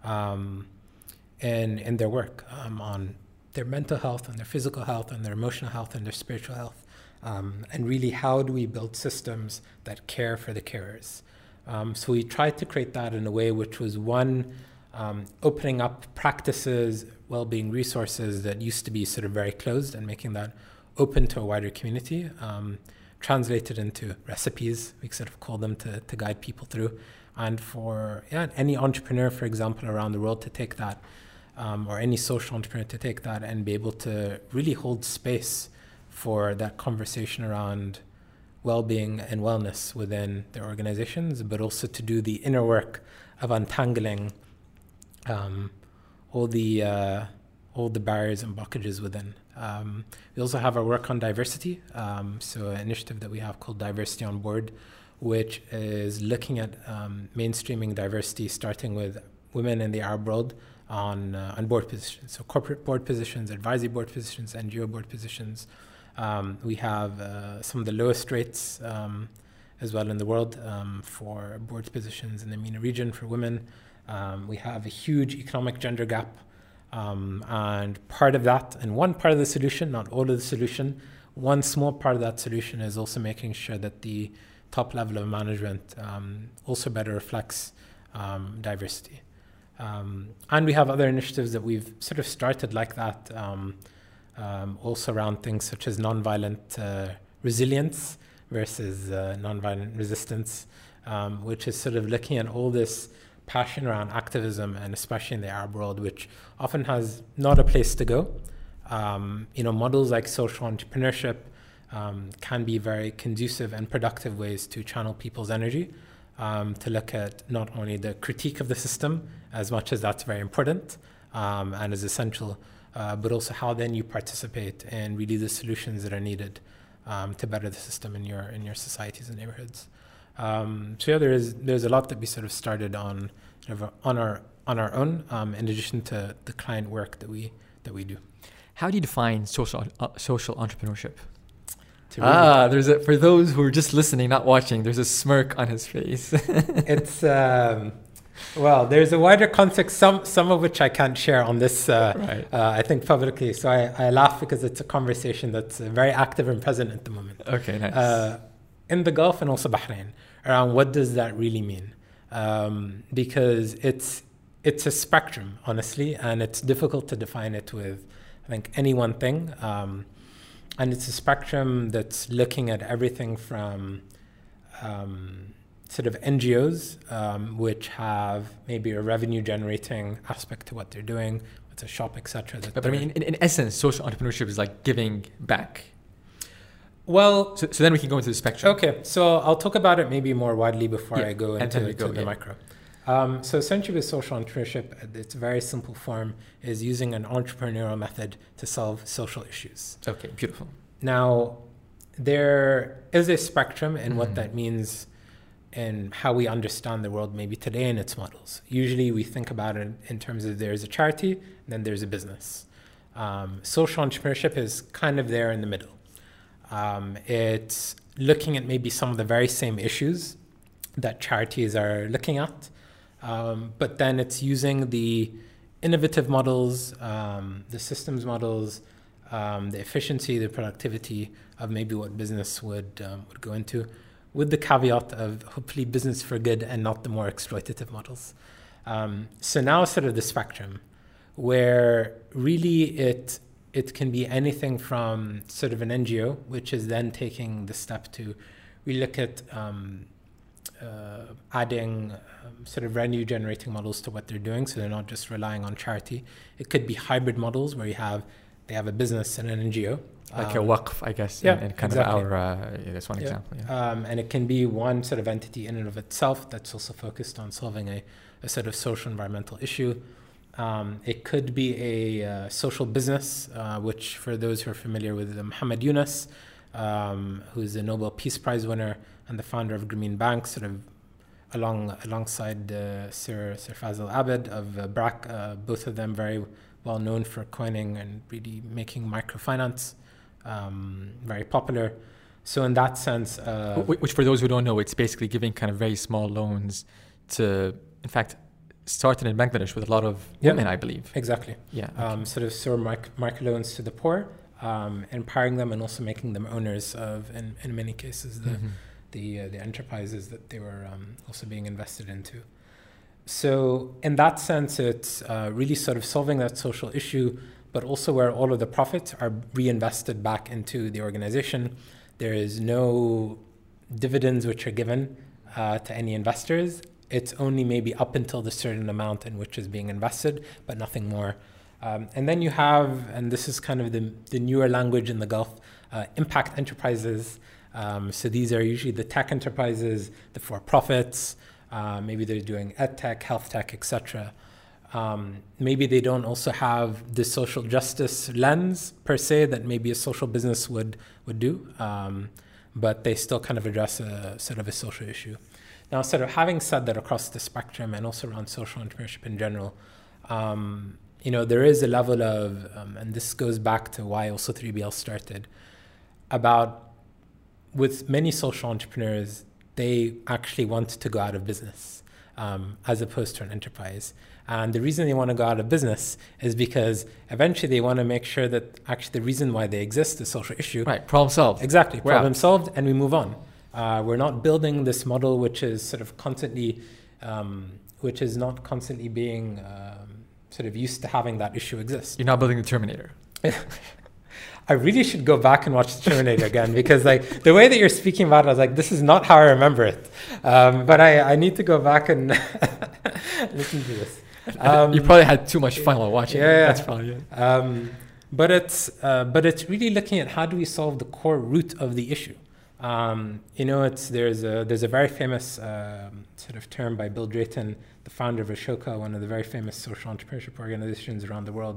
in their work on their mental health, on their physical health, on their emotional health, and their spiritual health. And really, how do we build systems that care for the carers? So we tried to create that in a way which was, one, opening up practices, well-being resources that used to be sort of very closed, and making that open to a wider community, translated into recipes, we sort of call them, to guide people through. And for any entrepreneur, for example, around the world to take that, or any social entrepreneur to take that and be able to really hold space for that conversation around well-being and wellness within their organizations, but also to do the inner work of untangling all the barriers and blockages within. We also have our work on diversity, so an initiative that we have called Diversity on Board, which is looking at mainstreaming diversity, starting with women in the Arab world on board positions, so corporate board positions, advisory board positions, NGO board positions. We have some of the lowest rates as well in the world for board positions in the MENA region for women. We have a huge economic gender gap. And part of that, and one part of the solution, not all of the solution, one small part of that solution is also making sure that the top level of management also better reflects diversity. And we have other initiatives that we've sort of started like that, also around things such as nonviolent resilience versus nonviolent resistance, which is sort of looking at all this passion around activism, and especially in the Arab world, which often has not a place to go. Models like social entrepreneurship can be very conducive and productive ways to channel people's energy, to look at not only the critique of the system, as much as that's very important and is essential, but also how then you participate in really the solutions that are needed to better the system in your societies and neighborhoods. There's a lot that we sort of started on our own, in addition to the client work that we do. How do you define social entrepreneurship? For those who are just listening, not watching, there's a smirk on his face. It's there's a wider context, some of which I can't share on this, right. I think publicly. So I laugh because it's a conversation that's very active and present at the moment. Okay, nice. In the Gulf and also Bahrain, around what does that really mean? Because it's a spectrum, honestly, and it's difficult to define it with, I think, any one thing. And it's a spectrum that's looking at everything from sort of NGOs, which have maybe a revenue generating aspect to what they're doing, it's a shop, etc. But I mean, in essence, social entrepreneurship is like giving back. Well, so then we can go into the spectrum. Okay, so I'll talk about it maybe more widely before I go into the micro. So essentially with social entrepreneurship, its very simple form is using an entrepreneurial method to solve social issues. Okay, beautiful. Now, there is a spectrum in what that means and how we understand the world maybe today in its models. Usually we think about it in terms of there's a charity, then there's a business. Social entrepreneurship is kind of there in the middle. It's looking at maybe some of the very same issues that charities are looking at, but then it's using the innovative models, the systems models, the efficiency, the productivity of maybe what business would go into, with the caveat of hopefully business for good and not the more exploitative models. So now sort of the spectrum, where really it can be anything from sort of an NGO, which is then taking the step to really look at adding sort of revenue generating models to what they're doing, so they're not just relying on charity. It could be hybrid models where they have a business and an NGO. Like a waqf, I guess, and kind exactly. of that's one example. Yeah. And it can be one sort of entity in and of itself that's also focused on solving a sort of social environmental issue. It could be a social business, which for those who are familiar with Muhammad Yunus, who's a Nobel Peace Prize winner and the founder of Grameen Bank, sort of alongside Sir Fazil Abed of BRAC, both of them very well known for coining and really making microfinance very popular. So in that sense... which for those who don't know, it's basically giving kind of very small loans to, in fact, started in Bangladesh with a lot of women, I believe. Exactly. Yeah. Okay. Sort of microloans to the poor, empowering them and also making them owners of, in many cases, the enterprises that they were also being invested into. So in that sense, it's really sort of solving that social issue, but also where all of the profits are reinvested back into the organization. There is no dividends which are given to any investors. It's only maybe up until the certain amount in which is being invested, but nothing more. And then you have, and this is kind of the newer language in the Gulf, impact enterprises. So these are usually the tech enterprises, the for-profits. Maybe they're doing ed tech, health tech, etc. Maybe they don't also have the social justice lens per se that maybe a social business would do, but they still kind of address a sort of a social issue. Now, sort of having said that across the spectrum and also around social entrepreneurship in general, there is a level of, and this goes back to why also 3BL started, about with many social entrepreneurs, they actually want to go out of business as opposed to an enterprise. And the reason they want to go out of business is because eventually they want to make sure that actually the reason why they exist, the social issue. Right, problem solved. Exactly, problem solved, and we move on. We're not building this model which is sort of constantly, which is not constantly being sort of used to having that issue exist. You're not building the Terminator. I really should go back and watch the Terminator again, because like the way that you're speaking about it, I was like, this is not how I remember it. But I need to go back and listen to this. You probably had too much fun while watching it. That's probably it. But it's really looking at how do we solve the core root of the issue. There's a very famous sort of term by Bill Drayton, the founder of Ashoka, one of the very famous social entrepreneurship organizations around the world.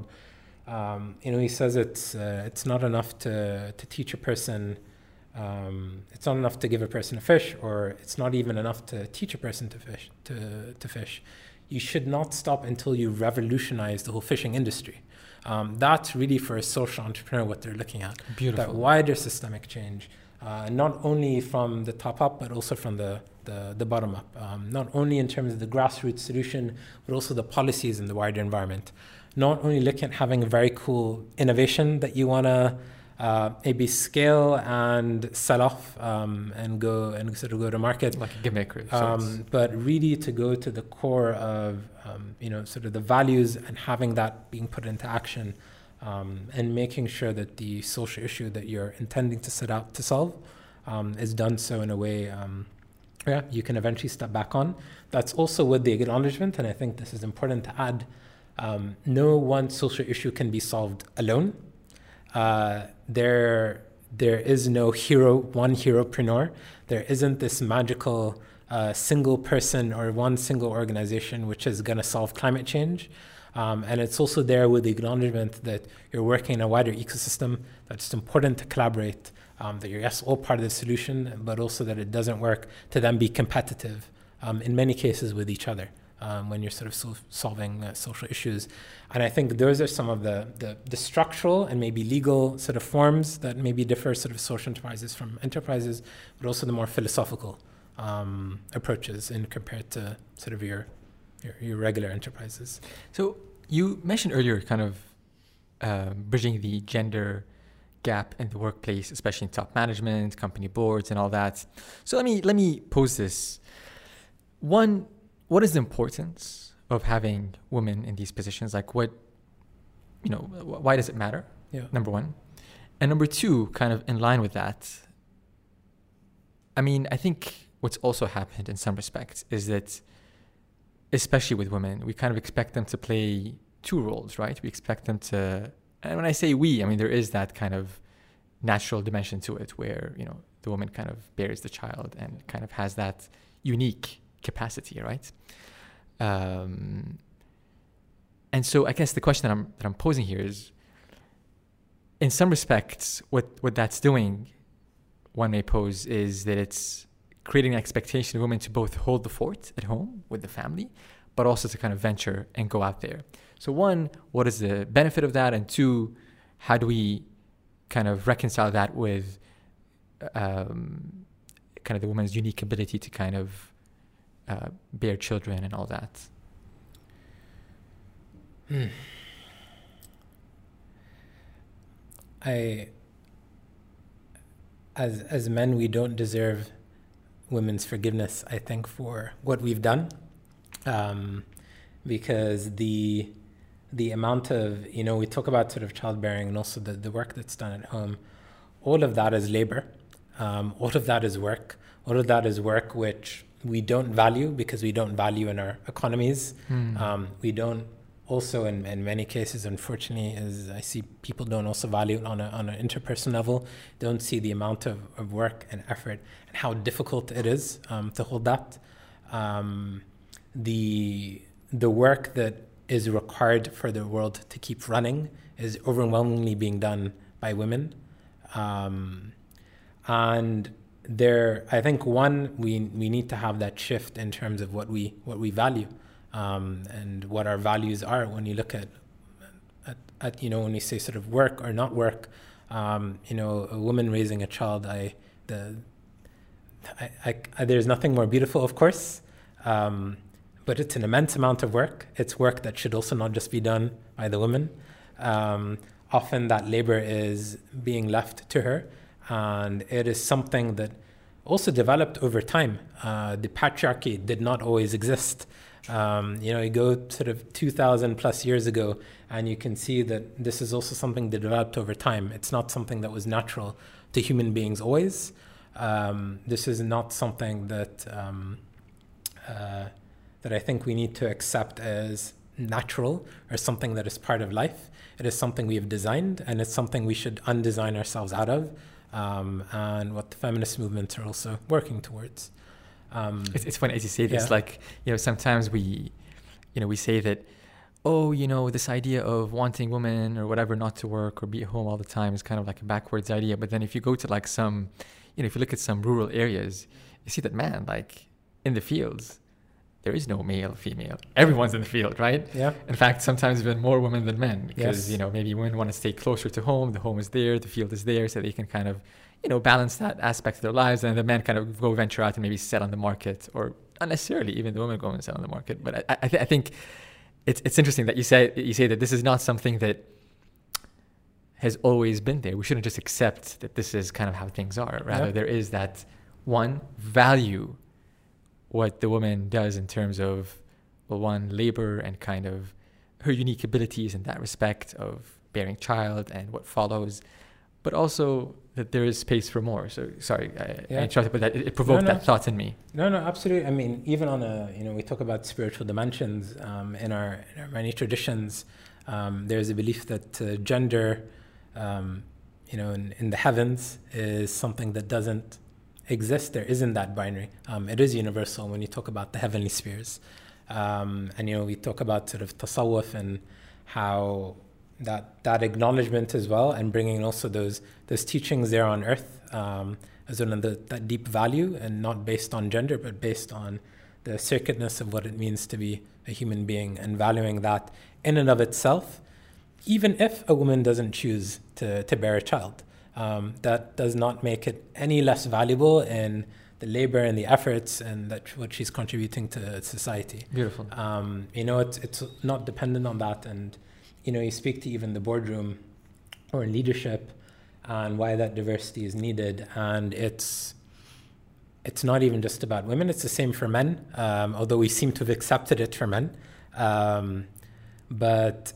He says it's not enough to teach a person, it's not enough to give a person a fish, or it's not even enough to teach a person to fish. You should not stop until you revolutionize the whole fishing industry. That's really for a social entrepreneur what they're looking at. Beautiful. That wider systemic change, not only from the top up, but also from the bottom up. Not only in terms of the grassroots solution, but also the policies in the wider environment. Not only looking at having a very cool innovation that you want to maybe scale and sell off and sort of go to market, like a gimmick, but really to go to the core of sort of the values and having that being put into action, and making sure that the social issue that you're intending to set out to solve is done so in a way you can eventually step back on. That's also with the acknowledgement, and I think this is important to add, No one social issue can be solved alone. There is no one heropreneur. There isn't this magical single person or one single organization which is going to solve climate change. And it's also there with the acknowledgement that you're working in a wider ecosystem, that it's important to collaborate, that you're, yes, all part of the solution, but also that it doesn't work to then be competitive in many cases with each other when you're sort of solving social issues. And I think those are some of the structural and maybe legal sort of forms that maybe differ sort of social enterprises from enterprises, but also the more philosophical approaches in compared to sort of your regular enterprises. So you mentioned earlier kind of bridging the gender gap in the workplace, especially in top management, company boards, and all that. So let me pose this. One, what is the importance of having women in these positions? Like why does it matter? Yeah. Number one. And number two, kind of in line with that, I mean, I think what's also happened in some respects is that, especially with women, we kind of expect them to play two roles, right? We expect them to, and when I say we, I mean, there is that kind of natural dimension to it where, the woman kind of bears the child and kind of has that unique capacity, right? And so I guess the question that I'm posing here is, in some respects, what that's doing, one may pose, is that it's creating an expectation of women to both hold the fort at home with the family, but also to kind of venture and go out there. So one, what is the benefit of that? And two, how do we kind of reconcile that with kind of the woman's unique ability to kind of bear children and all that? As men, we don't deserve women's forgiveness, I think, for what we've done, because the amount of, we talk about sort of childbearing and also the work that's done at home, all of that is labor, all of that is work, all of that is work which we don't value because we don't value in our economies. We don't also, in many cases, unfortunately, as I see, people don't also value it on an interpersonal level, don't see the amount of work and effort and how difficult it is to hold that. The work that is required for the world to keep running is overwhelmingly being done by women. And there, I think, one, we need to have that shift in terms of what we value. And what our values are when you look at when we say sort of work or not work, a woman raising a child, there's nothing more beautiful, of course, but it's an immense amount of work. It's work that should also not just be done by the woman. Often that labor is being left to her, and it is something that also developed over time. The patriarchy did not always exist. You go sort of 2,000 plus years ago, and you can see that this is also something that developed over time. It's not something that was natural to human beings always. This is not something that I think we need to accept as natural or something that is part of life. It is something we have designed, and it's something we should undesign ourselves out of, and what the feminist movements are also working towards. It's funny as you say this, like, sometimes we say that, this idea of wanting women or whatever not to work or be at home all the time is kind of like a backwards idea. But then if you go to like some, if you look at some rural areas, you see that, man, like in the fields, there is no male, female. Everyone's in the field, right? Yeah. In fact, sometimes even more women than men, because, Yes. Maybe women want to stay closer to home. The home is there, the field is there, so they can kind of balance that aspect of their lives, and the men kind of go venture out and maybe sell on the market, or not necessarily even the women go and sell on the market. But I think it's interesting that you say that this is not something that has always been there. We shouldn't just accept that this is kind of how things are. Rather, there is that one, value what the woman does in terms of, one, labor and kind of her unique abilities in that respect of bearing child and what follows. but also that there is space for more. So sorry, I interrupted, but it provoked that thought in me. No, absolutely. I mean, even on we talk about spiritual dimensions in our many traditions. There's a belief that gender, in the heavens is something that doesn't exist. There isn't that binary. It is universal when you talk about the heavenly spheres. And we talk about sort of tasawwuf and how that acknowledgement as well, and bringing also those teachings there on earth as well, that deep value, and not based on gender, but based on the sacredness of what it means to be a human being, and valuing that in and of itself, even if a woman doesn't choose to bear a child. That does not make it any less valuable in the labor and the efforts and what she's contributing to society. Beautiful. It's not dependent on that. And you speak to even the boardroom or leadership and why that diversity is needed. And it's not even just about women. It's the same for men, although we seem to have accepted it for men. But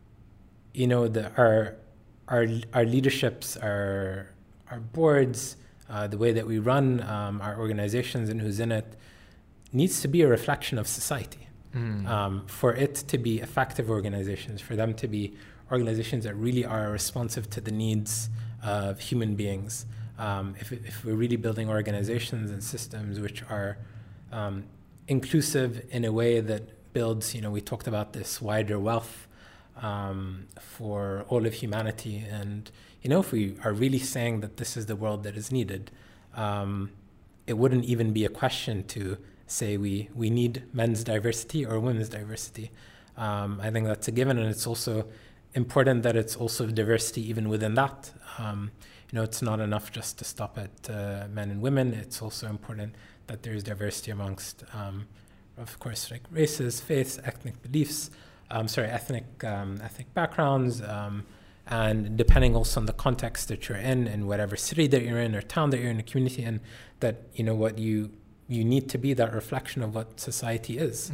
our leaderships, our boards, the way that we run our organizations and who's in it needs to be a reflection of society. For it to be effective organizations, for them to be organizations that really are responsive to the needs of human beings. If we're really building organizations and systems which are inclusive in a way that builds, we talked about this wider wealth for all of humanity. And, if we are really saying that this is the world that is needed, it wouldn't even be a question to say we need men's diversity or women's diversity. I think that's a given, and it's also important that it's also diversity even within that. It's not enough just to stop at men and women. It's also important that there's diversity amongst, of course, like races, faiths, ethnic beliefs, ethnic backgrounds, and depending also on the context that you're in whatever city that you're in or town that you're in, a community in, that what you need to be that reflection of what society is.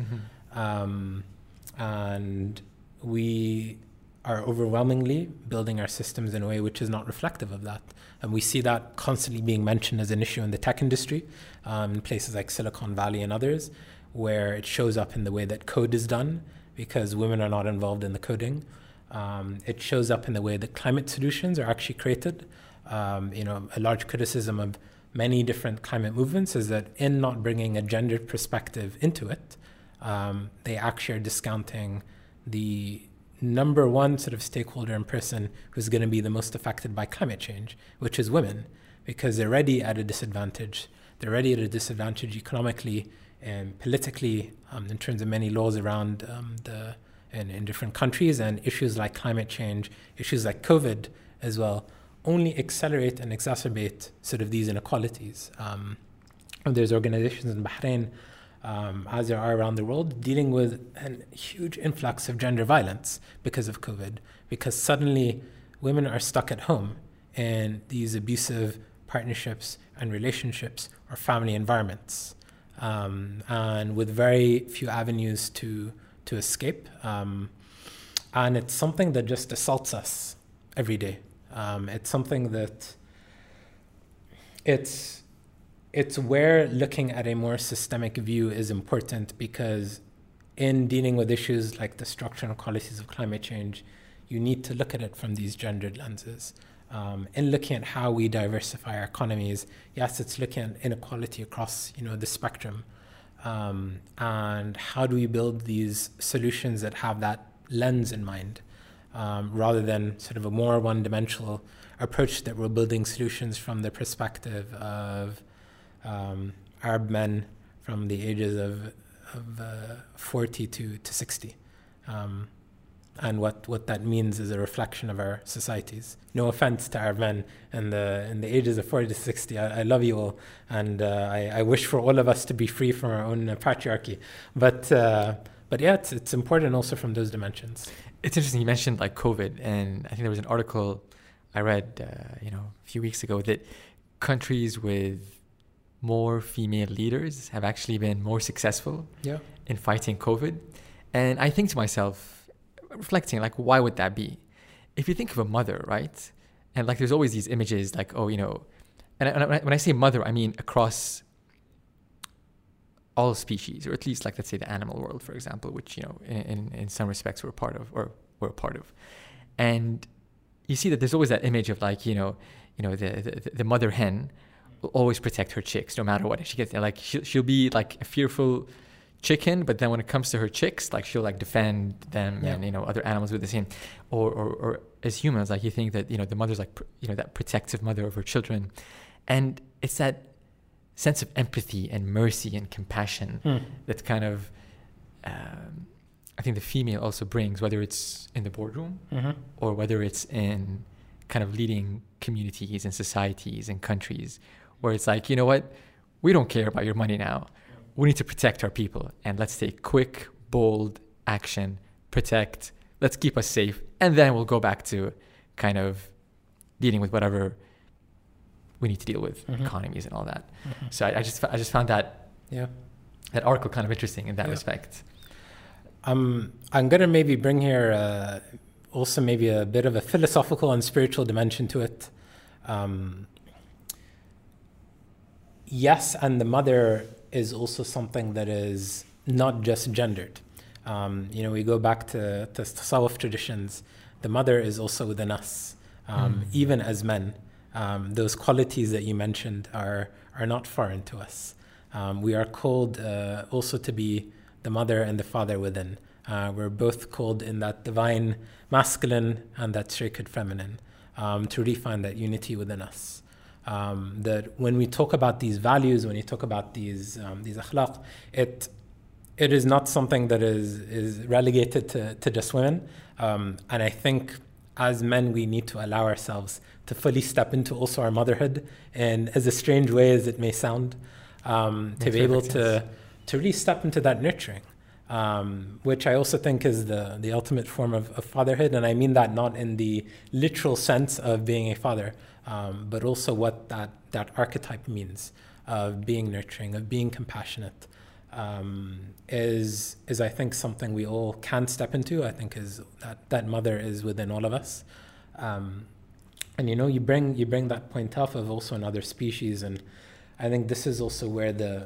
And we are overwhelmingly building our systems in a way which is not reflective of that. And we see that constantly being mentioned as an issue in the tech industry, in places like Silicon Valley and others, where it shows up in the way that code is done because women are not involved in the coding. It shows up in the way that climate solutions are actually created. A large criticism of many different climate movements is that in not bringing a gendered perspective into it, they actually are discounting the number one sort of stakeholder and person who's going to be the most affected by climate change, which is women, because they're already at a disadvantage. They're already at a disadvantage economically and politically in terms of many laws around in different countries, and issues like climate change, issues like COVID as well, only accelerate and exacerbate sort of these inequalities. There's organizations in Bahrain, as there are around the world, dealing with a huge influx of gender violence because of COVID, because suddenly women are stuck at home in these abusive partnerships and relationships or family environments, and with very few avenues to escape. And it's something that just assaults us every day. It's something that it's where looking at a more systemic view is important, because in dealing with issues like the structural qualities of climate change, you need to look at it from these gendered lenses. In looking at how we diversify our economies, yes, it's looking at inequality across the spectrum, and how do we build these solutions that have that lens in mind, rather than sort of a more one-dimensional approach that we're building solutions from the perspective of Arab men from the ages of 40 to 60. And what that means is a reflection of our societies. No offense to Arab men in the ages of 40 to 60. I love you all, and I wish for all of us to be free from our own patriarchy. But yeah, it's important also from those dimensions. It's interesting you mentioned like COVID, and I think there was an article I read a few weeks ago that countries with more female leaders have actually been more successful in fighting COVID. And I think to myself, reflecting, like, why would that be? If you think of a mother, right? And like there's always these images like, oh, you know, and when I say mother, I mean across all species, or at least like, let's say the animal world, for example, which, you know, in some respects we're a part of, or we're a part of. And you see that there's always that image of like, you know, the mother hen will always protect her chicks no matter what. She gets like, she'll be like a fearful chicken, but then when it comes to her chicks, like she'll like defend them, and, you know, other animals with the same. Or as humans, like you think that, you know, the mother's like, you know, that protective mother of her children. And it's that sense of empathy and mercy and compassion that kind of, I think the female also brings, whether it's in the boardroom or whether it's in kind of leading communities and societies and countries, where it's like, you know what, we don't care about your money now. We need to protect our people, and let's take quick, bold action, protect, let's keep us safe, and then we'll go back to kind of dealing with whatever we need to deal with, economies and all that. So I just found that that article kind of interesting in that respect. I'm gonna maybe bring here also maybe a bit of a philosophical and spiritual dimension to it. Yes, and the mother is also something that is not just gendered. You know, we go back to Tasawwuf traditions. The mother is also within us, even as men. Those qualities that you mentioned are not foreign to us. We are called also to be the mother and the father within. We're both called in that divine masculine and that sacred feminine, to refine that unity within us. That when we talk about these values, when you talk about these akhlaq, it is not something that is relegated to just women. And I think as men, we need to allow ourselves to fully step into also our motherhood, and as a strange way as it may sound, to be able to really step into that nurturing, which I also think is the ultimate form of fatherhood. And I mean that not in the literal sense of being a father, but also what that archetype means of being nurturing, of being compassionate, is I think something we all can step into. I think is that mother is within all of us. And you know, you bring that point up of also in other species, and I think this is also where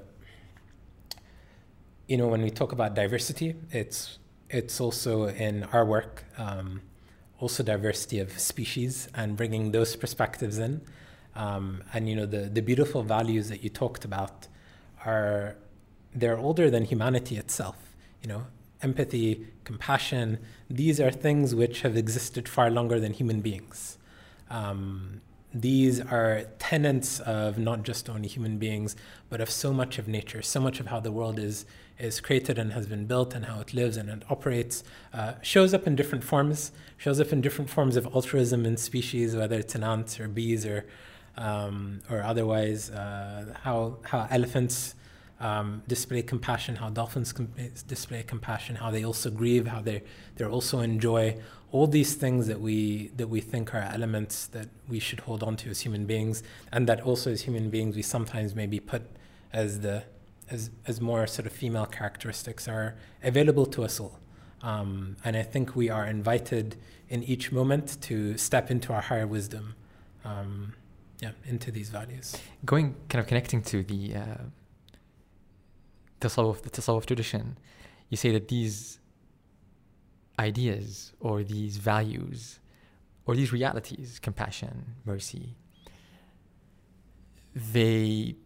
you know, when we talk about diversity, it's also in our work, also diversity of species and bringing those perspectives in. And you know, the beautiful values that you talked about they're older than humanity itself. You know, empathy, compassion, these are things which have existed far longer than human beings. These are tenets of not just only human beings, but of so much of nature, so much of how the world is created and has been built, and how it lives and it operates, shows up in different forms of altruism in species, whether it's in ants or bees or otherwise, how elephants display compassion, how dolphins display compassion, how they also grieve, how they're also enjoy. All these things that we think are elements that we should hold on to as human beings, and that also as human beings we sometimes maybe put as more sort of female characteristics, are available to us all. And I think we are invited in each moment to step into our higher wisdom, into these values. Connecting to the Tasawwuf tradition, you say that these ideas or these values or these realities, compassion, mercy, they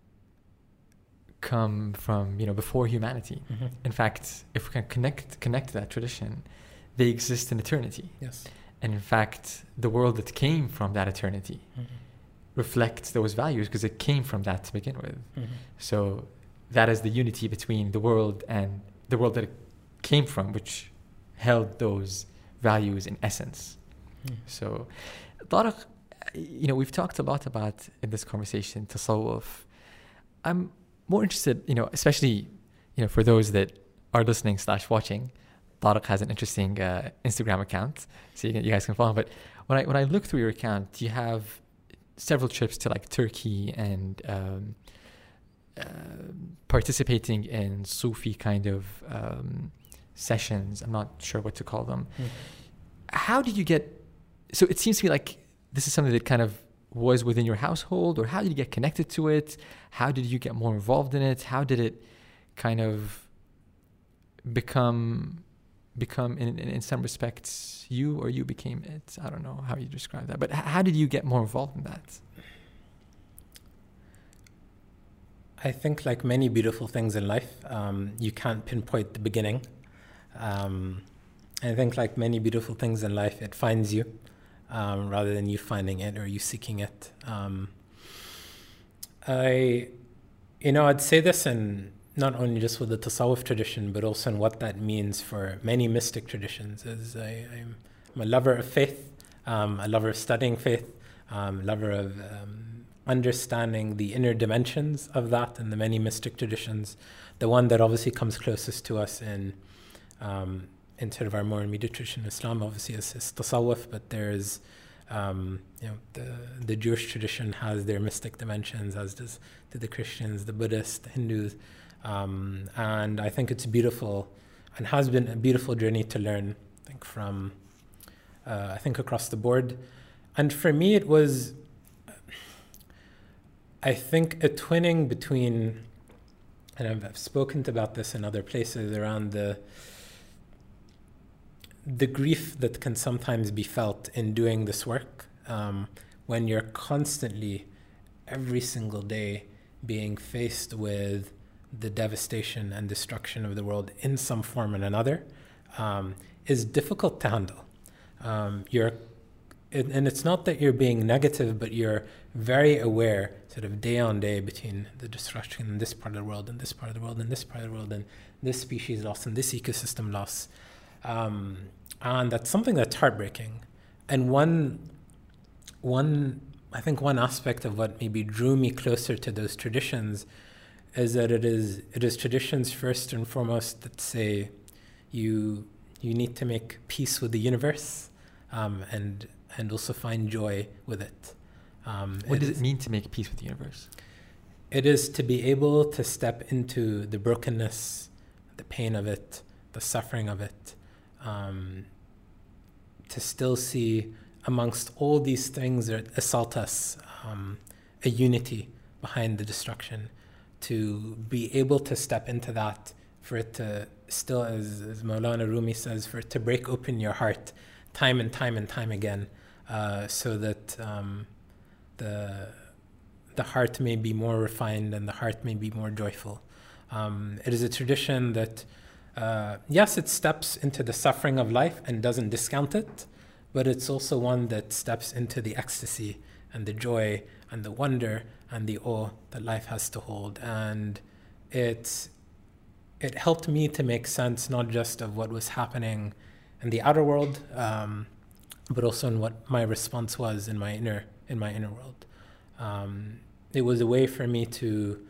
come from, you know, before humanity. In fact, if we can connect to that tradition, they exist in eternity. Yes. And in fact, the world that came from that eternity reflects those values because it came from that to begin with. So that is the unity between the world and the world that it came from, which held those values in essence. So, Tariq, you know, we've talked a lot about in this conversation tasawwuf. I'm more interested, you know, especially, you know, for those that are listening / watching, Tariq has an interesting Instagram account, so you guys can follow him. But when I look through your account, you have several trips to like Turkey and participating in Sufi kind of sessions. I'm not sure what to call them. How did you get? So it seems to me like this is something that kind of was within your household, or how did you get connected to it? How did you get more involved in it? How did it kind of become in some respects you, or you became it? I don't know how you describe that, but how did you get more involved in that? I think like many beautiful things in life, you can't pinpoint the beginning. I think like many beautiful things in life, it finds you rather than you finding it or you seeking it. I'd say this in not only just with the Tasawwuf tradition, but also in what that means for many mystic traditions. I'm a lover of faith, a lover of studying faith, a lover of understanding the inner dimensions of that and the many mystic traditions. The one that obviously comes closest to us in sort of our more immediate tradition, Islam, obviously is Tasawwuf, but there's the Jewish tradition has their mystic dimensions, as do the Christians, the Buddhists, the Hindus, and I think it's beautiful and has been a beautiful journey to learn. I think across the board, and for me it was, I think, a twinning between, and I've spoken about this in other places, around the grief that can sometimes be felt in doing this work, when you're constantly, every single day, being faced with the devastation and destruction of the world in some form or another, is difficult to handle. And it's not that you're being negative, but you're very aware, sort of day on day, between the destruction in this part of the world and this part of the world and this part of the world and this species loss and this ecosystem loss. And that's something that's heartbreaking. And one aspect of what maybe drew me closer to those traditions is that it is traditions first and foremost that say you need to make peace with the universe, and also find joy with it. What does it mean to make peace with the universe? It is to be able to step into the brokenness, the pain of it, the suffering of it, to still see amongst all these things that assault us, a unity behind the destruction, to be able to step into that, for it to still, as Maulana Rumi says, for it to break open your heart time and time and time again, so that the heart may be more refined and the heart may be more joyful. It is a tradition that, yes, it steps into the suffering of life and doesn't discount it, but it's also one that steps into the ecstasy and the joy and the wonder and the awe that life has to hold. And it helped me to make sense not just of what was happening in the outer world, but also in what my response was in my inner world. It was a way for me to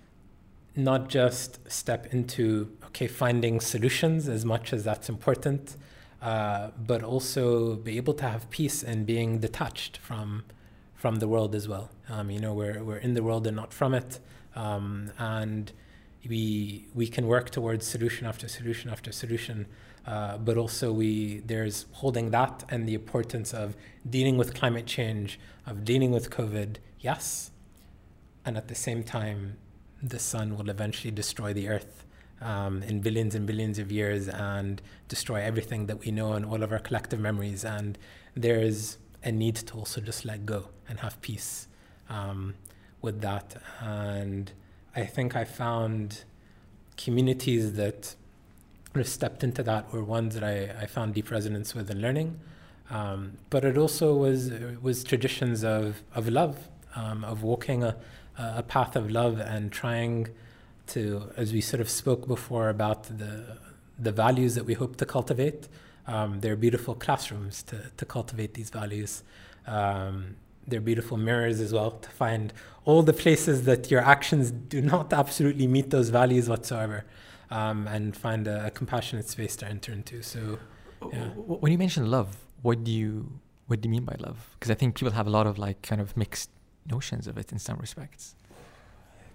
not just step into finding solutions, as much as that's important, but also be able to have peace and being detached from the world as well. We're in the world and not from it, and we can work towards solution after solution after solution, but also there's holding that and the importance of dealing with climate change, of dealing with COVID, yes, and at the same time, the sun will eventually destroy the earth in billions and billions of years and destroy everything that we know and all of our collective memories. And there's a need to also just let go and have peace with that. And I think I found communities that stepped into that were ones that I found deep resonance with in learning. But it also was traditions of love, of walking a path of love and trying to, as we sort of spoke before about the values that we hope to cultivate, they're beautiful classrooms to cultivate these values. They're beautiful mirrors as well, to find all the places that your actions do not absolutely meet those values whatsoever, and find a compassionate space to enter into. So, yeah. When you mention love, what do you mean by love? Because I think people have a lot of kind of mixed notions of it in some respects.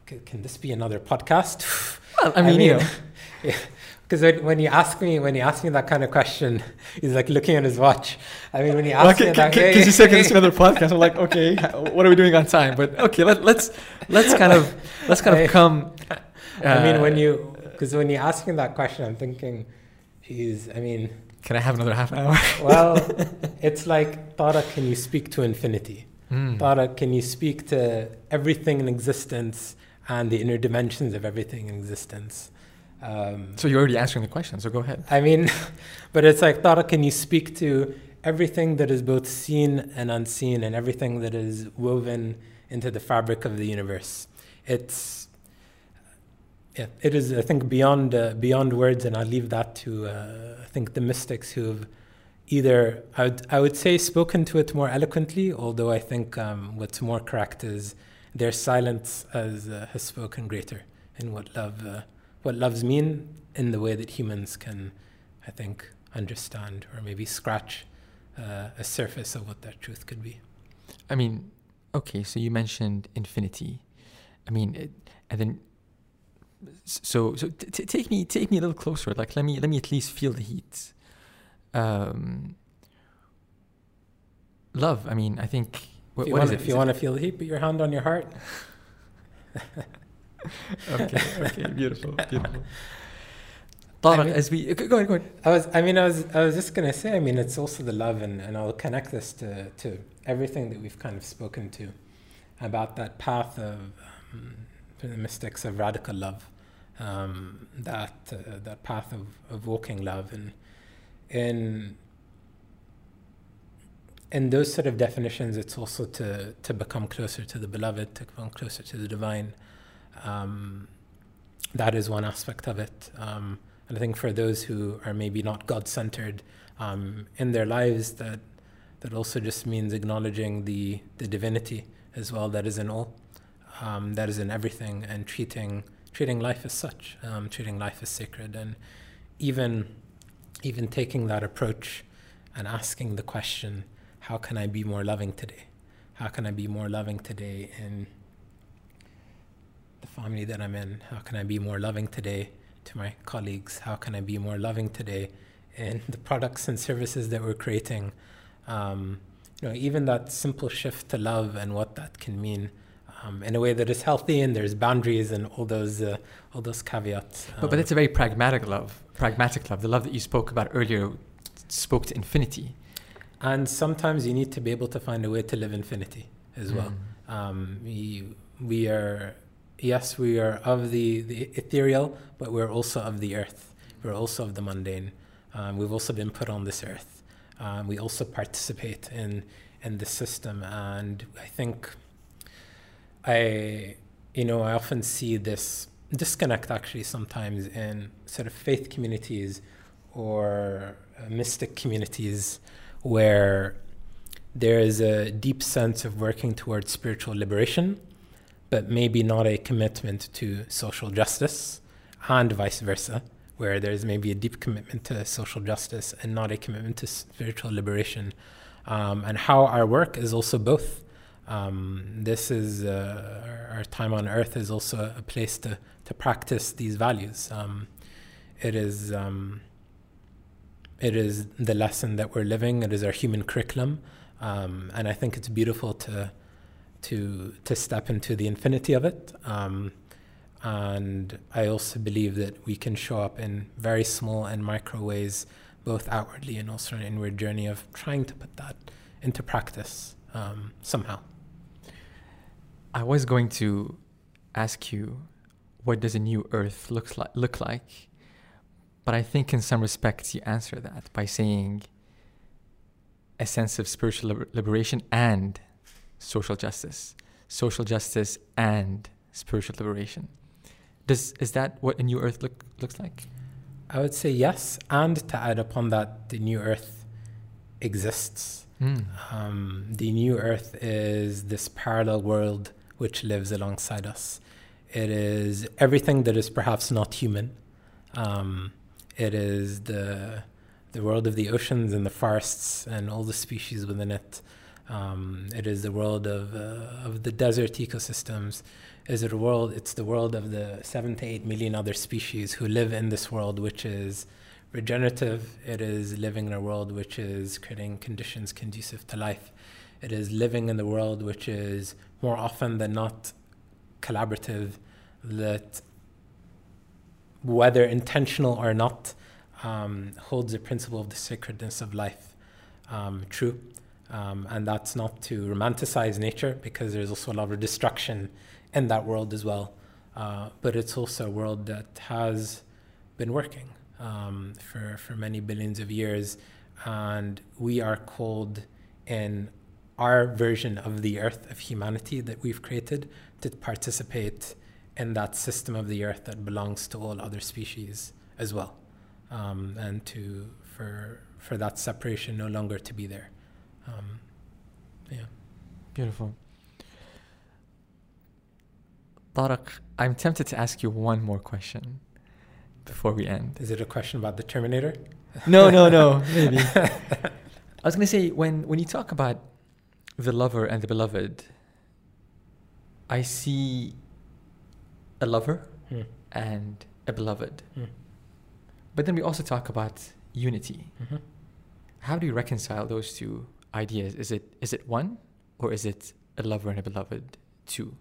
can this be another podcast? Well, I mean, because when you ask me that kind of question, he's like looking at his watch. I mean, when you ask me that, because you said can this be another podcast, I'm like, okay, what are we doing on time? But okay, let's kind of come. I mean, when you ask me that question, I'm thinking, geez, I mean, can I have another half an hour? Well, it's like, Tara, can you speak to infinity? Tara, can you speak to everything in existence and the inner dimensions of everything in existence? So you're already answering the question, so go ahead. I mean, but it's like, Tara, can you speak to everything that is both seen and unseen and everything that is woven into the fabric of the universe? It is, I think, beyond words, and I'll leave that to, I think, the mystics who've either, I would say, spoken to it more eloquently, although I think what's more correct is their silence has spoken greater in what loves mean in the way that humans can, I think, understand or maybe scratch a surface of what that truth could be. I mean, okay, so you mentioned infinity. I mean, and then so take me a little closer. Like, let me at least feel the heat. Love. I mean, I think. If you want to feel the heat, put your hand on your heart. Okay, beautiful. Tariq, as we go ahead. I was just gonna say. I mean, it's also the love, and I'll connect this to everything that we've kind of spoken to about that path of the mystics of radical love, that path of walking love, and in those sort of definitions, it's also to become closer to the beloved, to become closer to the divine. That is one aspect of it. And I think for those who are maybe not God-centered in their lives, that also just means acknowledging the divinity as well that is in all, that is in everything, and treating life as such, treating life as sacred, and even taking that approach and asking the question, how can I be more loving today? How can I be more loving today in the family that I'm in? How can I be more loving today to my colleagues? How can I be more loving today in the products and services that we're creating? Even that simple shift to love and what that can mean in a way that is healthy, and there's boundaries and all those caveats. But it's a very pragmatic love. The love that you spoke about earlier spoke to infinity. And sometimes you need to be able to find a way to live infinity as well. We are of the ethereal, but we're also of the earth. We're also of the mundane. We've also been put on this earth. We also participate in the system. And I think I often see this disconnect actually sometimes in sort of faith communities or mystic communities, where there is a deep sense of working towards spiritual liberation, but maybe not a commitment to social justice, and vice versa, where there's maybe a deep commitment to social justice and not a commitment to spiritual liberation, and how our work is also both. This is our time on earth is also a place to practice these values. It is the lesson that we're living. It is our human curriculum, and I think it's beautiful to step into the infinity of it. And I also believe that we can show up in very small and micro ways, both outwardly and also an inward journey of trying to put that into practice somehow. I was going to ask you, what does a new earth look like? But I think in some respects you answer that by saying a sense of spiritual liberation and social justice and spiritual liberation. Is that what a new earth looks like? I would say yes, and to add upon that, the new earth exists. The new earth is this parallel world which lives alongside us. It is everything that is perhaps not human. It is the world of the oceans and the forests and all the species within it. It is the world of the desert ecosystems. is it a world? It's the world of the 7 to 8 million other species who live in this world, which is regenerative. It is living in a world which is creating conditions conducive to life. It is living in the world which is more often than not collaborative, that whether intentional or not, holds the principle of the sacredness of life true. And that's not to romanticize nature, because there's also a lot of destruction in that world as well. But it's also a world that has been working for many billions of years. And we are called in our version of the earth of humanity that we've created to participate in that system of the earth that belongs to all other species as well. And for that separation no longer to be there. Yeah. Beautiful. Tariq, I'm tempted to ask you one more question before we end. Is it a question about the Terminator? No, maybe. I was going to say, when you talk about the lover and the beloved, I see a lover and a beloved. But then we also talk about unity. Mm-hmm. How do you reconcile those two ideas? Is it one, or is it a lover and a beloved two?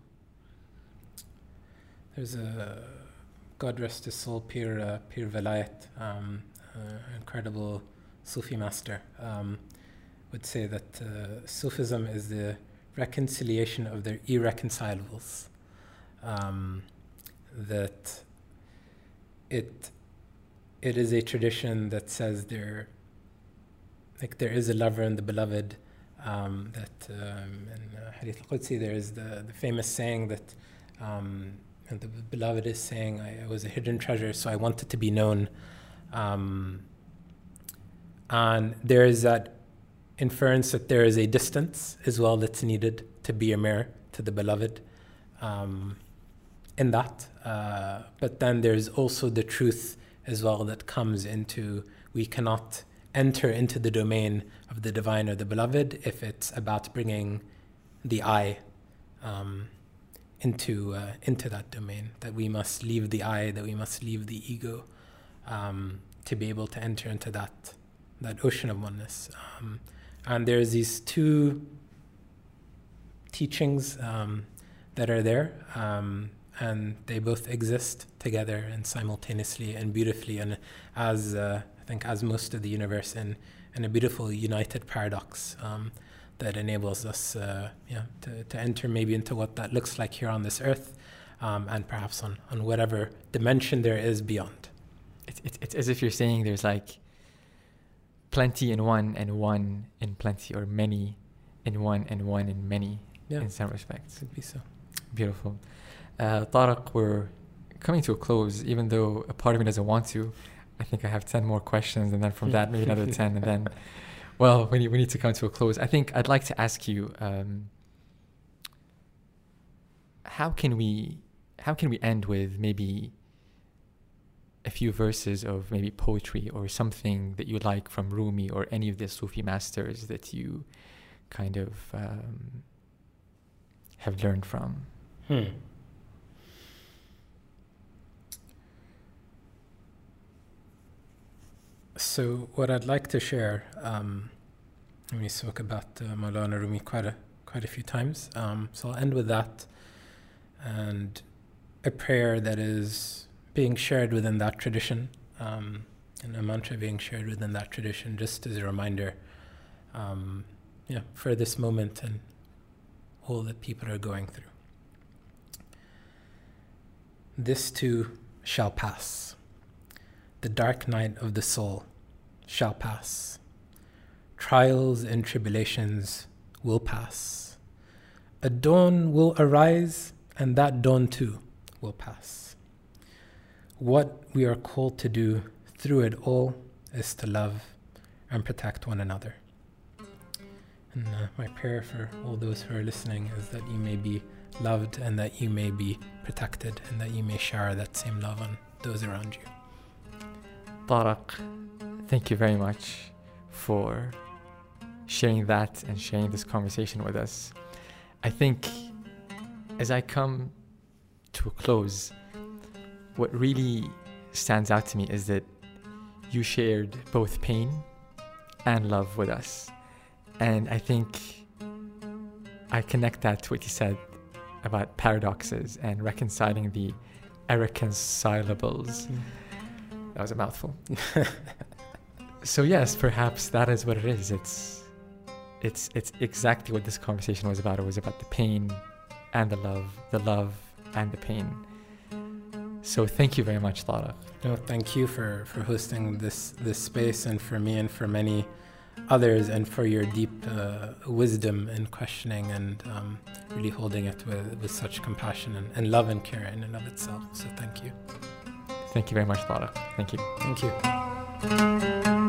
There's a, God rest his soul, Pir Vilayat, incredible Sufi master, would say that Sufism is the reconciliation of their irreconcilables. That it is a tradition that says there is a lover and the beloved. That in Hadith al-Qudsi there is the famous saying that the beloved is saying, I was a hidden treasure, so I wanted to be known. And there is that inference that there is a distance as well that's needed to be a mirror to the beloved in that. But then there's also the truth as well that comes into, we cannot enter into the domain of the divine or the beloved if it's about bringing the I into that domain, that we must leave the I, that we must leave the ego to be able to enter into that ocean of oneness. And there's these two teachings that are there, and they both exist together and simultaneously and beautifully, and as I think as most of the universe in a beautiful united paradox that enables us to enter maybe into what that looks like here on this earth, and perhaps on whatever dimension there is beyond. It's as if you're saying there's like plenty in one and one in plenty, or many in one and one in many, in some respects. Could be so. Beautiful. Tariq, we're coming to a close, even though a part of me doesn't want to. I think I have 10 more questions, and then from that maybe another 10, and then, well, we need to come to a close. I think I'd like to ask you, how can we end with maybe a few verses of maybe poetry or something that you like from Rumi or any of the Sufi masters that you kind of have learned from? So what I'd like to share, we spoke about Maulana Rumi quite a few times, so I'll end with that, and a prayer that is being shared within that tradition, and a mantra being shared within that tradition, just as a reminder for this moment and all that people are going through. This too shall pass. The dark night of the soul shall pass. Trials and tribulations will pass. A dawn will arise, and that dawn too will pass. What we are called to do through it all is to love and protect one another. And my prayer for all those who are listening is that you may be loved, and that you may be protected, and that you may share that same love on those around you. Tariq, thank you very much for sharing that and sharing this conversation with us. I think as I come to a close, what really stands out to me is that you shared both pain and love with us. And I think I connect that to what you said about paradoxes and reconciling the irreconcilables. That was a mouthful. So yes, perhaps that is what it is. It's exactly what this conversation was about. It was about the pain and the love and the pain. So thank you very much, Tariq. No, thank you for hosting this space, and for me and for many others, and for your deep wisdom in questioning and really holding it with such compassion and love and care in and of itself. So thank you. Thank you very much, Tariq. Thank you. Thank you.